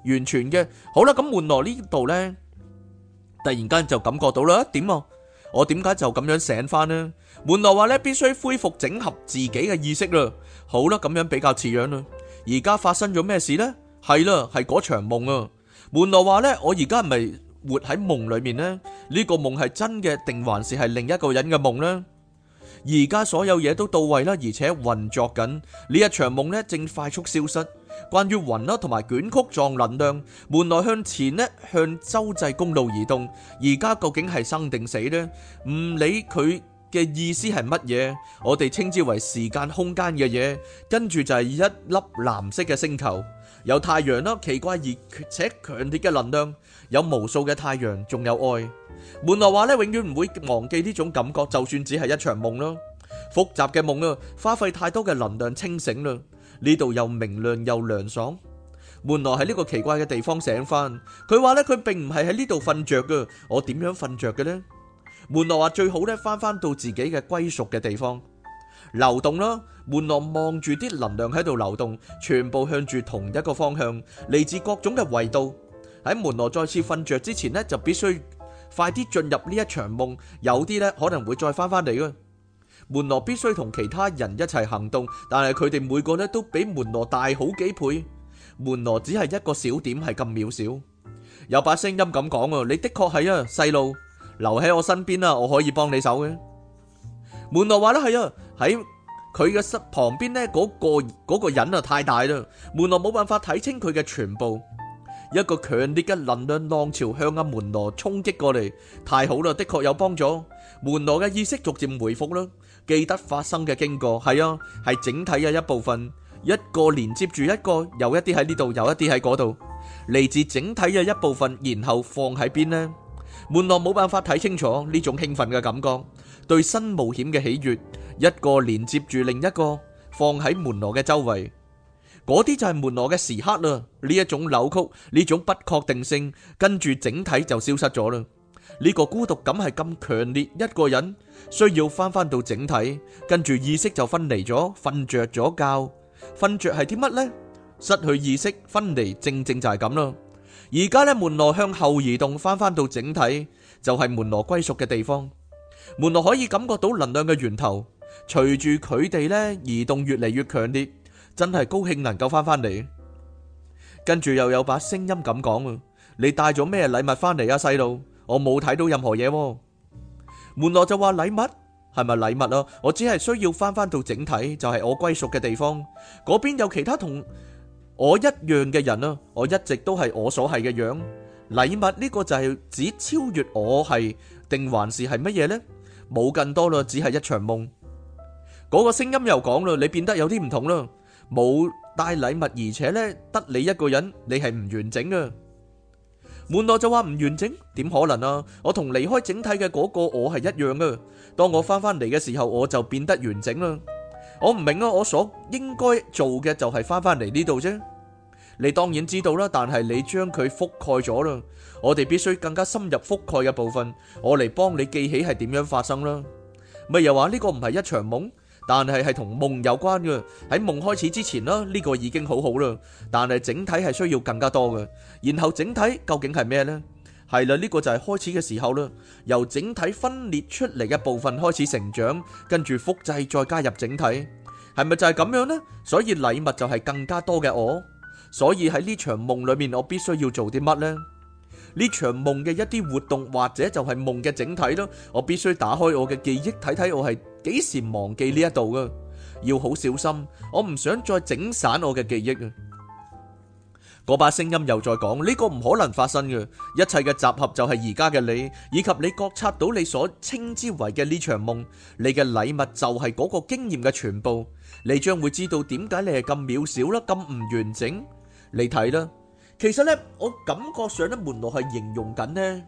完全嘅。好啦，咁門羅呢度呢，突然間就感覺到啦，點啊？我點解就咁樣醒翻呢？門羅話呢，必須恢復整合自己嘅意識啦。好啦，咁樣比較似樣啦。而家發生咗咩事呢？係啦，係嗰場夢啊。門羅話呢，我而家係咪活喺夢裏面呢？呢個夢係真嘅，定還是係另一個人嘅夢呢？而家所有嘢都到位啦，而且運作緊。呢一場夢呢，正快速消失。關於雲啦同埋捲曲狀能量，門羅向前呢，向州際公路移動。而家究竟係生定死呢？唔理佢嘅意思係乜嘢，我哋稱之為時間空間嘅嘢。跟住就係一粒藍色嘅星球，有太陽啦，奇怪而且強烈嘅能量，有無數嘅太陽，仲有愛。門羅話咧，永遠唔會忘記呢種感覺，就算只係一場夢啦。複雜嘅夢啊，花費太多嘅能量清醒啦。呢度又明亮又涼爽。門羅喺呢個奇怪嘅地方醒翻，佢話咧，佢並唔係喺呢度瞓着噶。我點樣瞓着嘅呢？門羅話最好咧，翻到自己嘅歸屬嘅地方，流動啦。門羅望住啲能量喺度流動，全部向住同一個方向，嚟自各種嘅維度。喺門羅再次瞓着之前呢，就必須快啲進入呢一場夢。有啲呢可能會再翻返嚟嘅。門羅必須同其他人一齊行動，但係佢哋每個呢都比門羅大好幾倍。門羅只係一個小點，係咁渺小。有把聲音咁講啊，你的確係啊，細路，留喺我身邊啦，我可以幫你手嘅。門羅話咧，係啊，喺佢嘅旁邊呢，嗰個人啊太大啦，門羅冇辦法睇清佢嘅全部。一個強烈嘅能量浪潮向阿門羅衝擊過嚟，太好啦，的確有幫助。門羅嘅意識逐漸回復啦，記得發生嘅經過，係啊，係整體嘅一部分，一個連接住一個，有一啲喺呢度，有一啲喺嗰度，嚟自整體嘅一部分，然後放喺邊呢？門羅冇辦法睇清楚呢種興奮嘅感覺，對新冒險嘅喜悅，一個連接住另一個，放喺門羅嘅周圍。嗰啲就係門羅嘅時刻啦，呢一種扭曲，呢種不確定性，跟住整體就消失咗啦。呢個孤獨感係咁強烈，一個人需要翻到整體，跟住意識就分離咗，瞓着咗覺。瞓着係啲乜呢？失去意識，分離，正正就係咁啦。而家呢，門羅向後移動，翻到整體，就係門羅歸屬嘅地方。門羅可以感覺到能量嘅源頭，隨住佢哋呢移動越嚟越強烈。真係高興能夠翻嚟，跟住又有把聲音咁講啊！你帶咗咩禮物翻嚟啊，細路？我冇睇到任何嘢。門羅就話禮物係咪禮物啊？我只係需要翻到整體，就係我歸屬嘅地方。嗰邊有其他同我一樣嘅人啊！我一直都係我所係嘅樣。禮物呢個就係指超越我係，定還是係乜嘢呢？冇更多啦，只係一場夢。嗰個聲音又講啦，你變得有啲唔同啦。冇帶禮物，而且呢得你一個人，你係唔完整啊！門羅就話唔完整，點可能啊？我同離開整體嘅嗰個我係一樣啊！當我翻嚟嘅時候，我就變得完整啦。我唔明啊，我所應該做嘅就係翻嚟呢度啫。你當然知道啦，但係你將佢覆蓋咗啦。我哋必須更加深入覆蓋嘅部分，我嚟幫你記起係點樣發生啦。咪又話呢個唔係一場夢？但係同夢有關嘅，喺夢開始之前啦，呢個已經好好啦。但係整體係需要更加多嘅。然後整體究竟係咩呢？係啦，呢個就係開始嘅時候啦。由整體分裂出嚟嘅部分開始成長，跟住複製再加入整體，係咪就係咁樣呢？所以禮物就係更加多嘅我。所以喺呢場夢裏面，我必須要做啲乜呢？呢場夢嘅一啲活動，或者就係夢嘅整體咯。我必須打開我嘅記憶，睇睇我係幾時忘記呢一度噶，要好小心。我唔想再整散我嘅記憶啊！嗰把聲音又再講，呢個唔可能發生嘅，一切嘅集合就係而家嘅你，以及你覺察到你所稱之為嘅呢場夢。你嘅禮物就係嗰個經驗嘅全部。你將會知道點解你係咁渺小啦，咁唔完整。你睇啦。其實咧，我感覺上咧，門羅係形容緊呢，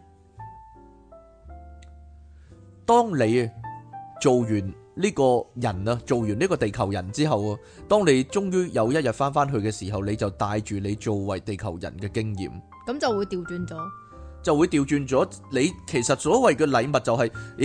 當你做完呢個人啊，做完呢個地球人之後啊，當你終於有一日翻去嘅時候，你就帶住你作為地球人嘅經驗， 咁就會調轉咗， 就會調轉咗。你其實所謂嘅禮物就係，咦，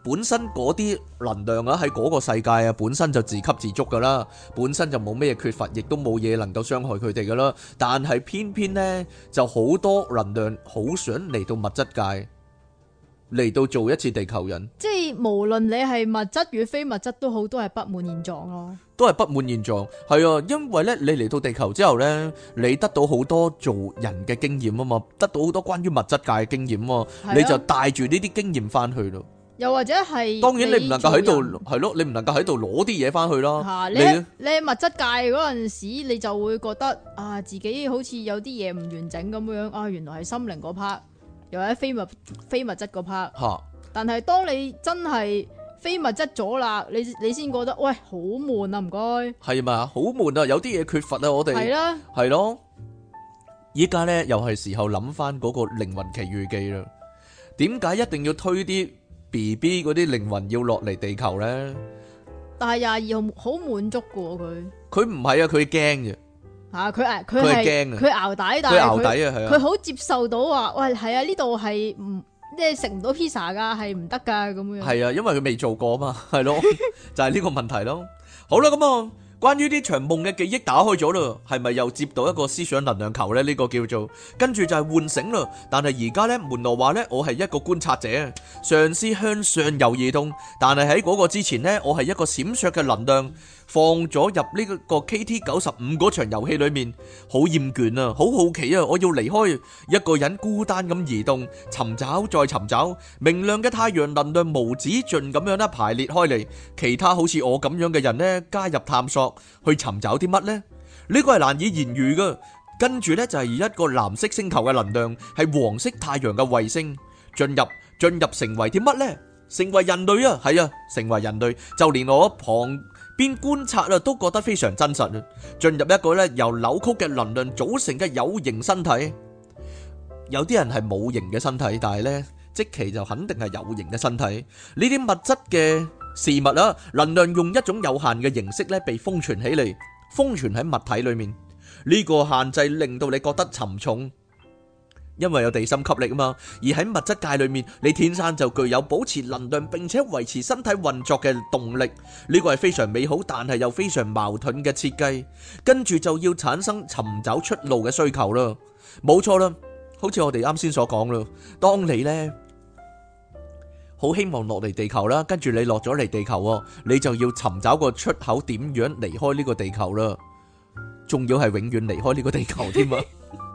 本身嗰啲能量啊喺嗰個世界啊本身就自給自足噶啦，本身就冇咩缺乏，亦都冇嘢能夠傷害佢哋噶啦。但係偏偏呢，就好多能量好想嚟到物質界，嚟到做一次地球人， 即係無論你係物質與非物質都好，都係不滿現狀咯。 都係不滿現狀。係啊，因為呢，你嚟到地球之後呢，你得到好多做人嘅經驗啊嘛，得到好多關於物質界嘅經驗啊，你就帶住呢啲經驗翻去咯。 又或者係， 當然你唔能夠喺度係咯，你唔能夠喺度攞啲嘢翻去咯。 你喺物質界嗰陣時，你就會覺得啊，自己好似有啲嘢唔完整咁樣啊，原來係心靈嗰 part，又或者非物質嗰 part。 嚇！ 但係當你真係非物質咗啦，你先覺得喂好悶啊，唔該。係嘛，好悶啊，有啲嘢缺乏啊，我哋係啦，係咯。依家咧又係時候諗翻嗰個靈魂奇遇記啦。點解一定要推啲BB 嗰啲靈魂要落嚟地球咧？但係22號好滿足噶喎，佢唔係啊，佢驚嘅吓，佢係驚啊，佢淆底，但係佢好接受到話，喂係啊，呢度係唔即係食唔到 pizza 噶，係唔得噶咁樣。係啊，因為佢未做過嘛，係咯，就係呢個問題咯。好啦，咁啊。關於呢場夢嘅記憶打開咗啦，係咪又接到一個思想能量球呢？呢個叫做跟住就係喚醒啦。但係而家呢，門羅話呢，我係一個觀察者，嘗試向上游移動。但係喺嗰個之前呢，我係一個閃爍嘅能量，放咗入呢個 KT-95嗰場遊戲裏面，好厭倦啊，好好奇啊，我要離開，一個人孤單咁移動，尋找再尋找，明亮嘅太陽能量無止盡咁樣咧排列開嚟，其他好似我咁樣嘅人呢，加入探索。去尋找啲乜呢？呢個係難以言喻噶。跟住呢，就係一個藍色星球嘅能量，係黃色太陽嘅衛星進入成為啲乜呢？成為人類啊，係啊，成為人類。就連我旁邊觀察啊，都覺得非常真實啊。進入一個呢由扭曲嘅能量組成嘅有形身體。有啲人係冇形嘅身體，但係呢，即其就肯定係有形嘅身體。呢啲物質嘅事物啦，能量用一種有限嘅形式咧被封存起嚟，封存喺物體裏面。呢個限制令到你覺得沉重，因為有地心吸力啊嘛。而喺物質界裏面，你天生就具有保持能量並且維持身體運作嘅動力。呢個係非常美好，但係又非常矛盾嘅設計。跟住就要產生尋找出路嘅需求啦。冇錯啦，好似我哋啱先所講啦，當你呢。好希望落嚟地球啦，跟住你落咗嚟地球，你就要尋找個出口，點樣離開呢個地球啦？仲要係永遠離開呢個地球添啊！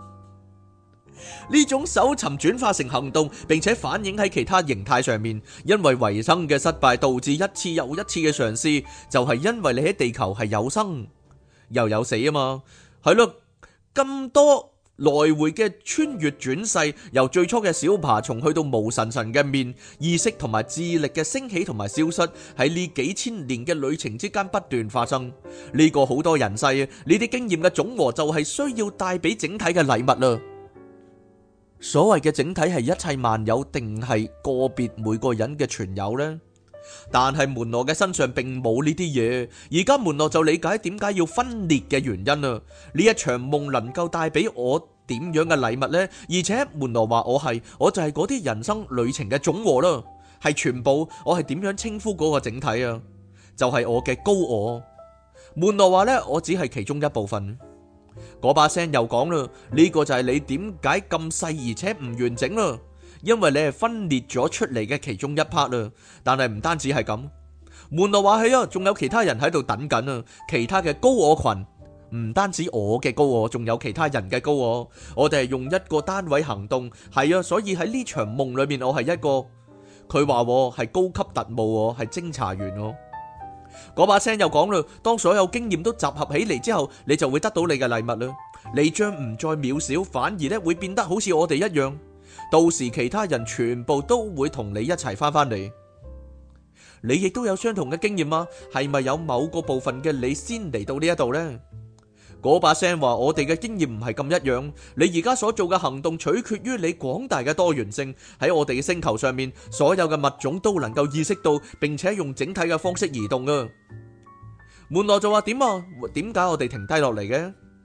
呢種搜尋轉化成行動，並且反映喺其他形態上面。因為維生嘅失敗導致一次又一次嘅嘗試，就係因為你喺地球係有生又有死啊嘛。係咯，咁多。來回嘅穿越轉世，由最初嘅小爬蟲去到無神嘅面，意識同埋智力嘅升起同埋消失，喺呢幾千年嘅旅程之間不斷發生。呢個好多人世啊，呢啲經驗嘅總和就係需要帶俾整體嘅禮物啦。所謂嘅整體係一切萬有，定係個別每個人嘅全有呢？但係門羅嘅身上並冇呢啲嘢，而家門羅就理解點解要分裂嘅原因啊！呢一場夢能夠帶俾我點樣嘅禮物呢？而且門羅話我就係嗰啲人生旅程嘅總和啦，係全部。我係點樣稱呼嗰個整體啊？就係我嘅高我。門羅話呢，我只係其中一部分。嗰把聲又講啦，呢個就係你點解咁細而且唔完整啦？因為你係分裂咗出嚟嘅其中一 part 啦，但係唔單止係咁，門羅話係啊，仲有其他人喺度等緊啊，其他嘅高我群，唔單止我嘅高我，仲有其他人嘅高我，我哋係用一個單位行動，係啊，所以喺呢場夢裏面，我係一個，佢話我係高級特務，係偵查員。嗰把聲又講啦，當所有經驗都集合起嚟之後，你就會得到你嘅禮物啦，你將唔再渺小，反而咧會變得好似我哋一樣。到時其他人全部都會同你一齊翻嚟，你亦都有相同嘅經驗嗎？係咪有某個部分嘅你先嚟到呢一度呢？嗰把聲話我哋嘅經驗唔係咁一樣，你而家所做嘅行動取決於你廣大嘅多元性。喺我哋嘅星球上面，所有嘅物種都能夠意識到，並且用整體嘅方式移動啊。門羅就話點啊？點解我哋停低落嚟嘅？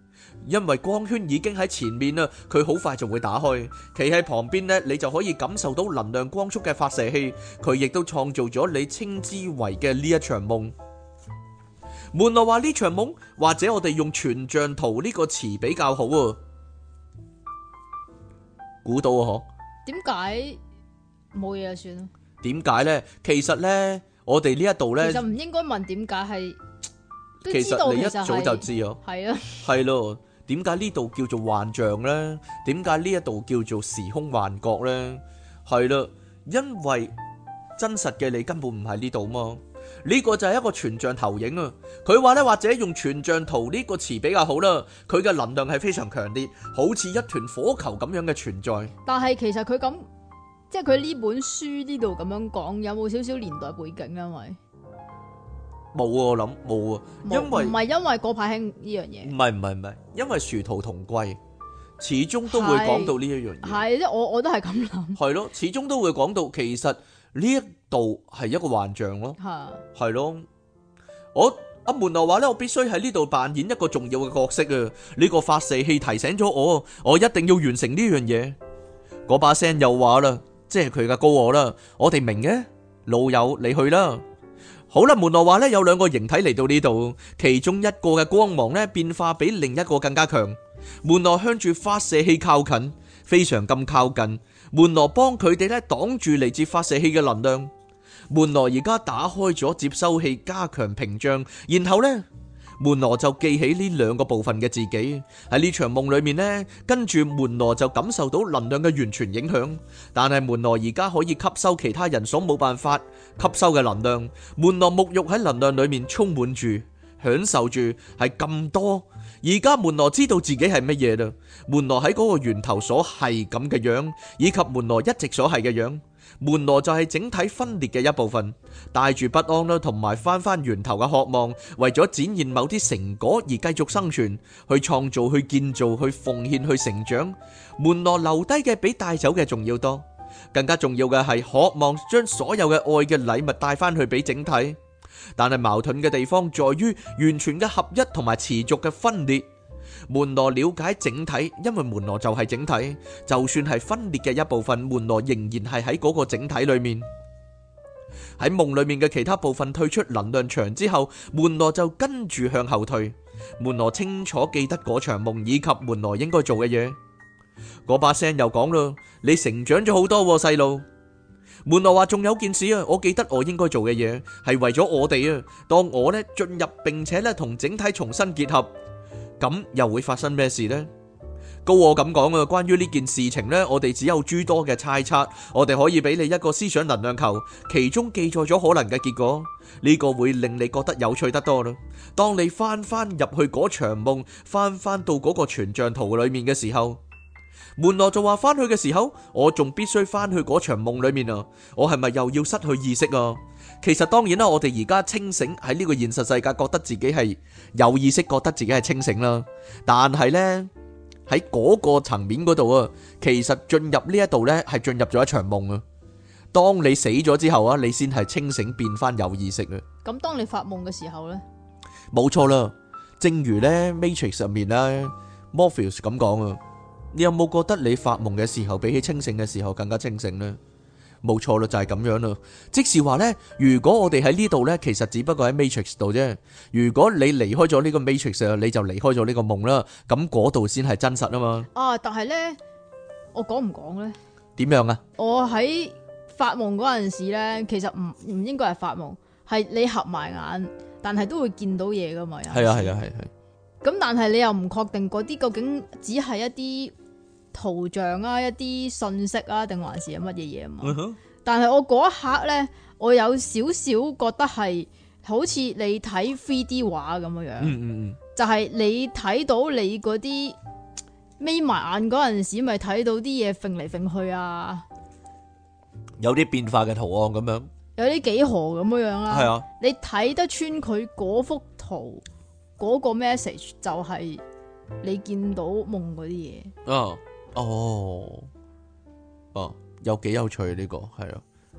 因為光圈已經喺前面啦，佢好快就會打開。企喺旁邊呢，你就可以感受到能量光速嘅發射器，佢亦都創造咗你稱之為嘅呢一場夢。門羅話呢場夢，或者我哋用全像圖呢個詞比較好啊。估到啊， 點解冇嘢就算啦？ 點解呢？其實呢，我哋呢一度呢， 其實唔應該問點解，係都其知道實你一早就係知啊。 係啊， 係咯，點解呢度叫做幻象呢？點解呢一度叫做時空幻覺呢？係啦，因為真實嘅你根本唔喺呢度嘛。呢個就係一個全像投影啊。佢話呢，或者用全像圖呢個詞比較好啦。佢嘅能量係非常強烈，好似一團火球咁樣嘅存在。 但係其實佢咁，即係佢呢本書呢度咁樣講，有冇少少年代背景？因為冇啊，我諗冇啊，因為唔係因為嗰排興呢樣嘢， 唔係，因為殊途同歸，始終都會講到呢一樣嘢。 係即係我都係咁諗， 係咯，始終都會講到，其實呢一度係一個幻象咯。係咯，阿門羅話咧，我必須喺呢度扮演一個重要嘅角色啊！呢個發射器提醒咗我一定要完成呢樣嘢。嗰把聲又話啦，即係佢嘅高我啦，我哋明嘅，老友你去啦。好啦，門羅話咧，有兩個形體嚟到呢度，其中一個嘅光芒咧變化比另一個更加強。門羅向住發射器靠近，非常咁靠近。門羅幫佢哋咧擋住嚟自發射器嘅能量。門羅而家打開咗接收器加強屏障，然後呢，門羅就記起呢兩個部分嘅自己喺呢場夢裏面呢，跟住門羅就感受到能量嘅完全影響，但係門羅而家可以吸收其他人所冇辦法吸收嘅能量。門羅沐浴喺能量裏面充滿住，享受住係咁多。而家門羅知道自己係乜嘢啦，門羅喺嗰個源頭所係咁嘅樣，以及門羅一直所係嘅樣。門羅就係整體分裂嘅一部分，帶住不安啦，同埋翻源頭嘅渴望，為咗展現某啲成果而繼續生存，去創造、去建造、去奉獻、去成長。門羅留低嘅比帶走嘅仲要多，更加重要嘅係渴望將所有嘅愛嘅禮物帶翻去俾整體。但係矛盾嘅地方在於完全嘅合一同埋持續嘅分裂。門羅了解整體，因為門羅就係整體，就算係分裂嘅一部分，門羅仍然係喺嗰個整體裏面。喺夢裏面嘅其他部分退出能量場之後，門羅就跟住向後退。門羅清楚記得嗰場夢以及門羅應該做嘅嘢。嗰把聲又講啦，你成長咗好多，細路。門羅話仲有件事啊，我記得我應該做嘅嘢係為咗我哋啊。當我呢進入並且呢同整體重新結合，咁又會發生咩事呢？高我咁講啊，關於呢件事情呢，我哋只有諸多嘅猜測。我哋可以俾你一個思想能量球，其中記載咗可能嘅結果。呢個會令你覺得有趣得多啦。當你翻入去嗰場夢，翻到嗰個全像圖裏面嘅時候，門羅就話翻去嘅時候，我仲必須翻去嗰場夢裏面啊！我係咪又要失去意識啊？其實當然啦，我哋而家清醒喺呢個現實世界，覺得自己係有意識，覺得自己係清醒啦。但係呢，喺嗰個層面嗰度啊，其實進入呢一度呢係進入咗一場夢啊。當你死咗之後啊，你先係清醒變翻有意識啊。 咁當你發夢嘅時候呢？ 冇錯啦。正如呢 Matrix 入面呢 Morpheus 咁講啊。你有冇覺得你發夢嘅時候比起清醒嘅時候更加清醒呢？冇錯啦，就係咁樣啦。即是話呢，如果我哋喺呢度呢，其實只不過喺 Matrix 度啫。如果你離開咗呢個 Matrix，你就離開咗呢個夢啦。咁嗰度先係真實啊嘛。 啊，但係呢，我講唔講呢？ 點樣啊？ 我喺發夢嗰陣時呢，其實唔應該係發夢，係你合埋眼，但係都會見到嘢噶嘛。 係啊係啊係係。 咁但係你又唔確定嗰啲究竟只係一啲圖像啊，一啲信息啊，定還是係乜嘢嘢啊嘛？但係我嗰一刻呢，我有少少覺得係好似你睇 3D 畫咁樣樣，就係你睇到你嗰啲眯埋眼嗰陣時，咪睇到啲嘢揈嚟揈去啊， 有啲變化嘅圖案咁樣， 有啲幾何咁樣樣啦。 係啊， 你睇得穿佢嗰幅圖嗰個 message， 就係你見到夢嗰啲嘢。 哦，有幾有趣呢個係啊，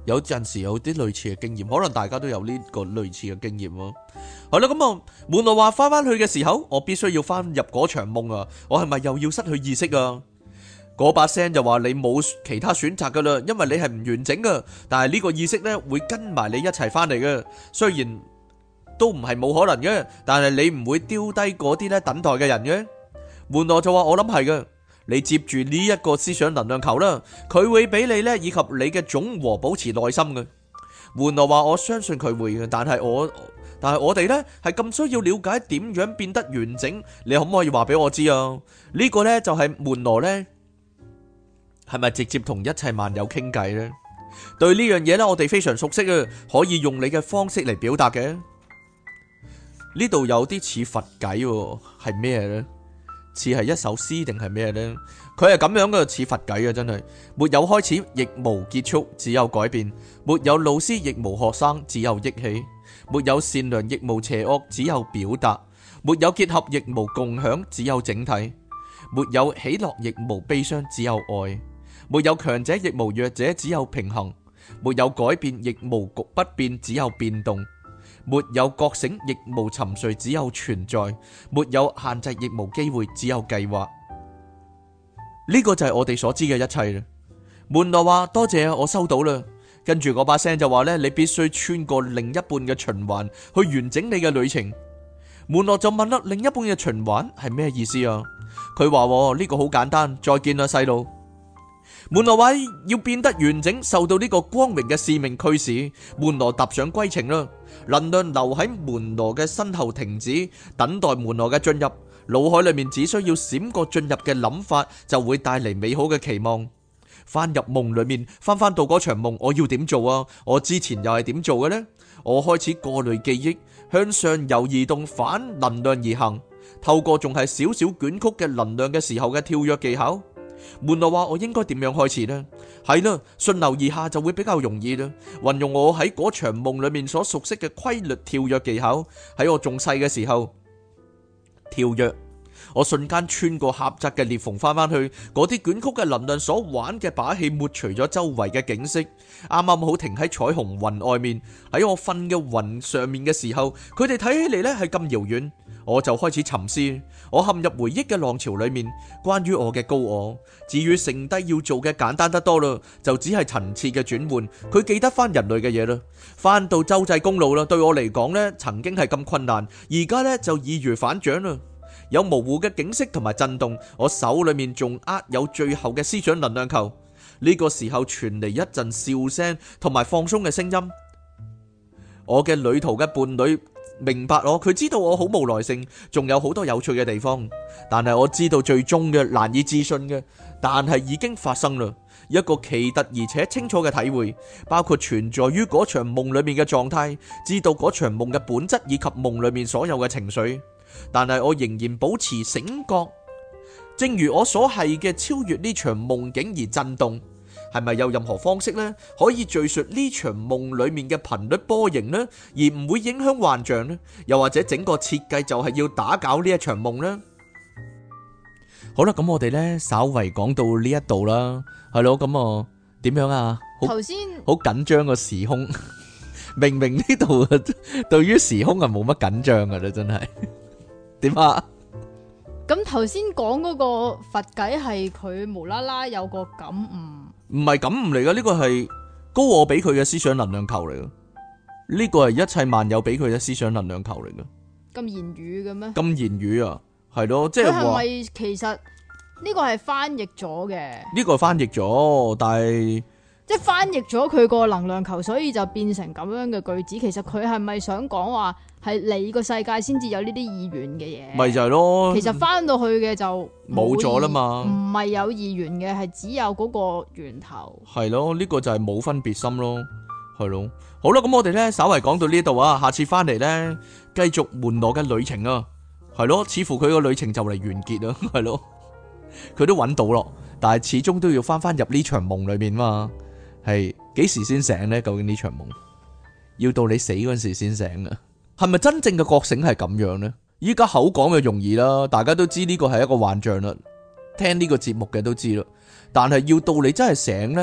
有陣時有啲類似嘅經驗，可能大家都有呢個類似嘅經驗咯。好啦，咁啊，門羅話翻去嘅時候，我必須要翻入嗰場夢啊！我係咪又要失去意識啊？嗰把聲就話你冇其他選擇噶啦，因為你係唔完整噶。但係呢個意識呢，會跟埋你一齊翻嚟嘅，雖然都唔係冇可能嘅，但係你唔會丟低嗰啲呢等待嘅人嘅。門羅就話我諗係嘅，你接住呢一個思想能量球啦，佢會俾你呢以及你嘅總和保持耐心嘅。門羅話我相信佢會嘅，但係我哋呢係咁需要了解點樣變得完整，你可唔可以話俾我知啊？呢個呢就係門羅呢係咪直接同一切萬有傾偈呢？對呢樣嘢呢，我哋非常熟悉啊，可以用你嘅方式嚟表達嘅。呢度有啲似佛偈喎，係咩呢？似係一首詩定係咩呢？佢係咁樣嘅，似佛偈啊，真係沒有開始，亦無結束，只有改變；沒有老師，亦無學生，只有憶起；沒有善良，亦無邪惡，只有表達；沒有結合，亦無共享，只有整體；沒有喜樂，亦無悲傷，只有愛；沒有強者，亦無弱者，只有平衡；沒有改變，亦無不變，只有變動；沒有覺醒，亦無沉睡，只有存在；沒有限制，亦無機會，只有計劃。呢個就係我哋所知嘅一切啦。門羅話多謝啊，我收到啦。跟住嗰把聲就話呢，你必須穿過另一半嘅循環去完整你嘅旅程。門羅就問啦，另一半嘅循環係咩意思啊？佢話呢個好簡單，再見啦細路。門羅話要變得完整，受到呢個光榮嘅使命驅使，門羅踏上歸程啦。能量留喺門羅嘅身後停止，等待門羅嘅進入。腦海裏面只需要閃過進入嘅諗法，就會帶嚟美好嘅期望。翻入夢裏面，翻到嗰場夢，我要點做啊？我之前又係點做嘅呢？我開始過濾記憶，向上游移動反能量而行，透過仲係少少捲曲嘅能量嘅時候嘅跳躍技巧。門羅話我應該點樣開始呢？係啦，順流而下就會比較容易啦。運用我喺嗰場夢裏面所熟悉嘅規律跳躍技巧，喺我仲細嘅時候跳躍，我瞬間穿過狹窄嘅裂縫翻去，嗰啲捲曲嘅能量所玩嘅把戲抹除咗周圍嘅景色，啱啱好停喺彩虹雲外面。喺我瞓嘅雲上面嘅時候，佢哋睇起嚟呢係咁遙遠，我就開始沉思。我陷入回憶嘅浪潮裏面，關於我嘅高我。至於剩低要做嘅簡單得多啦，就只係層次嘅轉換。佢記得翻人類嘅嘢啦，翻到州際公路啦，對我嚟講呢曾經係咁困難，而家呢就易如反掌啦。有模糊嘅景色同埋震動，我手裏面仲握有最後嘅思想能量球。呢個時候傳嚟一陣笑聲同埋放鬆嘅聲音。我嘅旅途嘅伴侶明白我，佢知道我好無耐性，仲有好多有趣嘅地方。但係我知道最終嘅難以置信嘅，但係已經發生啦。一個奇特而且清楚嘅體會，包括存在於嗰場夢裏面嘅狀態，知道嗰場夢嘅本質以及夢裏面所有嘅情緒。但係我仍然保持醒覺，正如我所係嘅超越呢場夢境而震動。係咪有任何方式呢，可以敘述呢場夢裏面嘅頻率波形呢，而唔會影響幻象呢？又或者整個設計就係要打攪呢一場夢呢？好啦，咁我哋呢稍為講到呢一度啦，係咯，咁啊點樣啊？ 頭先好緊張個時空，明明呢度對於時空係冇乜緊張噶啦，真係。點啊？ 咁頭先講嗰個佛偈係佢無啦啦有個感悟， 唔係感悟嚟噶，呢個係高我俾佢嘅思想能量球嚟噶，呢個係一切萬有俾佢嘅思想能量球嚟噶。 咁言語嘅咩？ 咁言語啊，係咯，即係話。佢係咪其實呢個係翻譯咗嘅？呢個係翻譯咗，但係。 即係翻譯咗佢個能量球，所以就變成咁樣嘅句子。其實佢係咪想講話係你個世界先至有呢啲意願嘅嘢？ 咪就係咯。其實翻到去嘅就冇咗啦嘛。 唔係有意願嘅，係只有嗰個源頭。 係咯，呢個就係冇分別心咯。係咯。好啦，咁我哋咧稍為講到呢度啊，下次翻嚟咧繼續門羅嘅旅程啊。係咯，似乎佢個旅程就嚟完結啦。係咯，佢都揾到咯，但係始終都要翻入呢場夢裏面嘛。係幾時先醒呢？究竟呢場夢要到你死嗰陣時先醒啊？係咪真正嘅覺醒係咁樣呢？依家口講就容易啦，大家都知呢個係一個幻象啦，聽呢個節目嘅都知啦。但係要到你真係醒呢，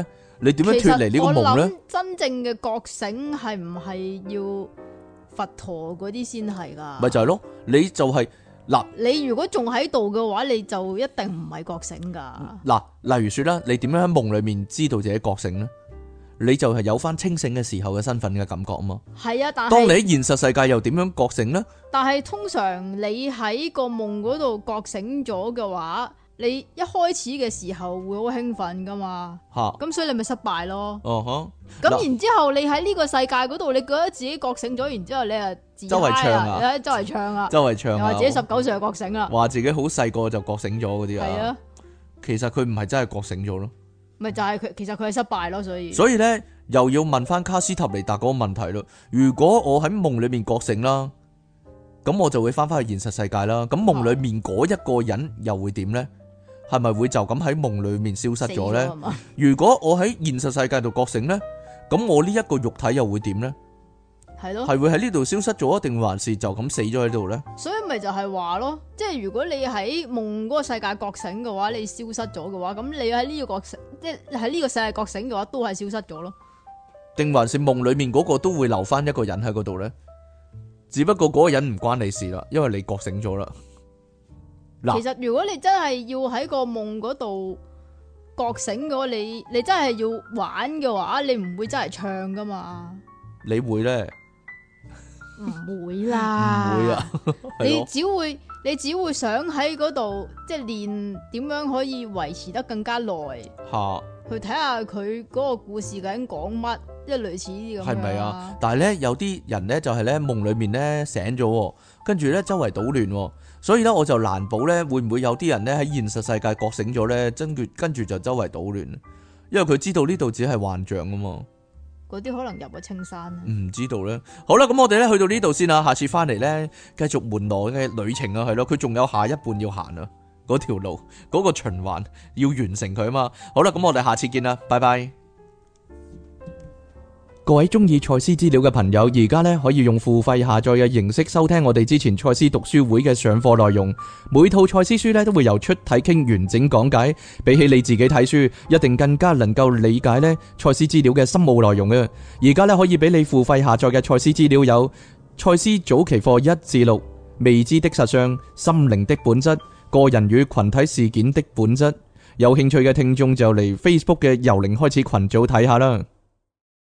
你點樣脫離呢個夢呢？ 真正嘅覺醒係唔係要佛陀嗰啲先係噶？ 咪就係咯，你就係嗱， 你如果仲喺度嘅話，你就一定唔係覺醒噶。 嗱，例如說啦，你點樣喺夢裏面知道自己覺醒呢？你就係有翻清醒嘅時候嘅身份嘅感覺啊嘛。 係啊，但係當你喺現實世界又點樣覺醒呢？ 但係通常你喺個夢嗰度覺醒咗嘅話，你一開始嘅時候會好興奮噶嘛。 吓， 咁所以你咪失敗咯。 哦咁然之後你喺呢個世界嗰度，你覺得自己覺醒咗，然之後你啊自周圍唱啊， 周圍唱啊， 周圍唱啊， 又話自己19歲就覺醒啦， 話自己好細個就覺醒咗嗰啲啊。 係啊， 其實佢唔係真係覺醒咗咯。 咪就係佢，其實佢係失敗咯，所以咧又要問翻卡斯塔尼達嗰個問題咯。如果我喺夢裏面覺醒啦，咁我就會翻返去現實世界啦。咁夢裏面嗰一個人又會點呢？係咪會就咁喺夢裏面消失咗呢？如果我喺現實世界度覺醒呢，咁我呢一個肉體又會點呢？ 係咯， 係會喺呢度消失咗，定還是就咁死咗喺度呢？ 所以咪就係話咯，即係如果你喺夢嗰個世界覺醒嘅話，你消失咗嘅話，咁你喺呢個覺醒，即係喺呢個世界覺醒嘅話，都係消失咗咯。 定還是夢裏面嗰個都會留翻一個人喺嗰度呢？只不過嗰個人唔關你事啦，因為你覺醒咗啦。 其實如果你真係要喺個夢嗰度覺醒嘅話，你真係要玩嘅話，你唔會真係唱噶嘛？ 你會呢？ 唔會啦， 唔會啊！ 你只會想喺嗰度即係練點樣可以維持得更加耐，去睇下佢嗰個故事究竟講乜，即係類似呢啲咁樣。係咪啊？ 但係咧有啲人咧就係咧夢裏面咧醒咗，跟住咧周圍搗亂，所以咧我就難保咧會唔會有啲人咧喺現實世界覺醒咗咧，跟住就周圍搗亂，因為佢知道呢度只係幻象啊嘛。 嗰啲可能入咗青山， 唔知道咧。好啦，咁我哋咧去到呢度先啦，下次翻嚟咧繼續門羅嘅旅程啊，係咯，佢仲有下一半要行啊，嗰條路嗰個循環要完成佢啊嘛。好啦，咁我哋下次見啦，拜拜。各位中意賽斯資料嘅朋友，而家咧可以用付費下載嘅形式收聽我哋之前賽斯讀書會嘅上課內容。每套賽斯書咧都會由出體傾完整講解，比起你自己睇書，一定更加能夠理解咧賽斯資料嘅深奧內容嘅。而家咧可以俾你付費下載嘅賽斯資料有賽斯早期課1至6、未知的實相、心靈的本質、個人與群體事件的本質。有興趣嘅聽眾就嚟 Facebook 嘅由零開始群組睇下啦。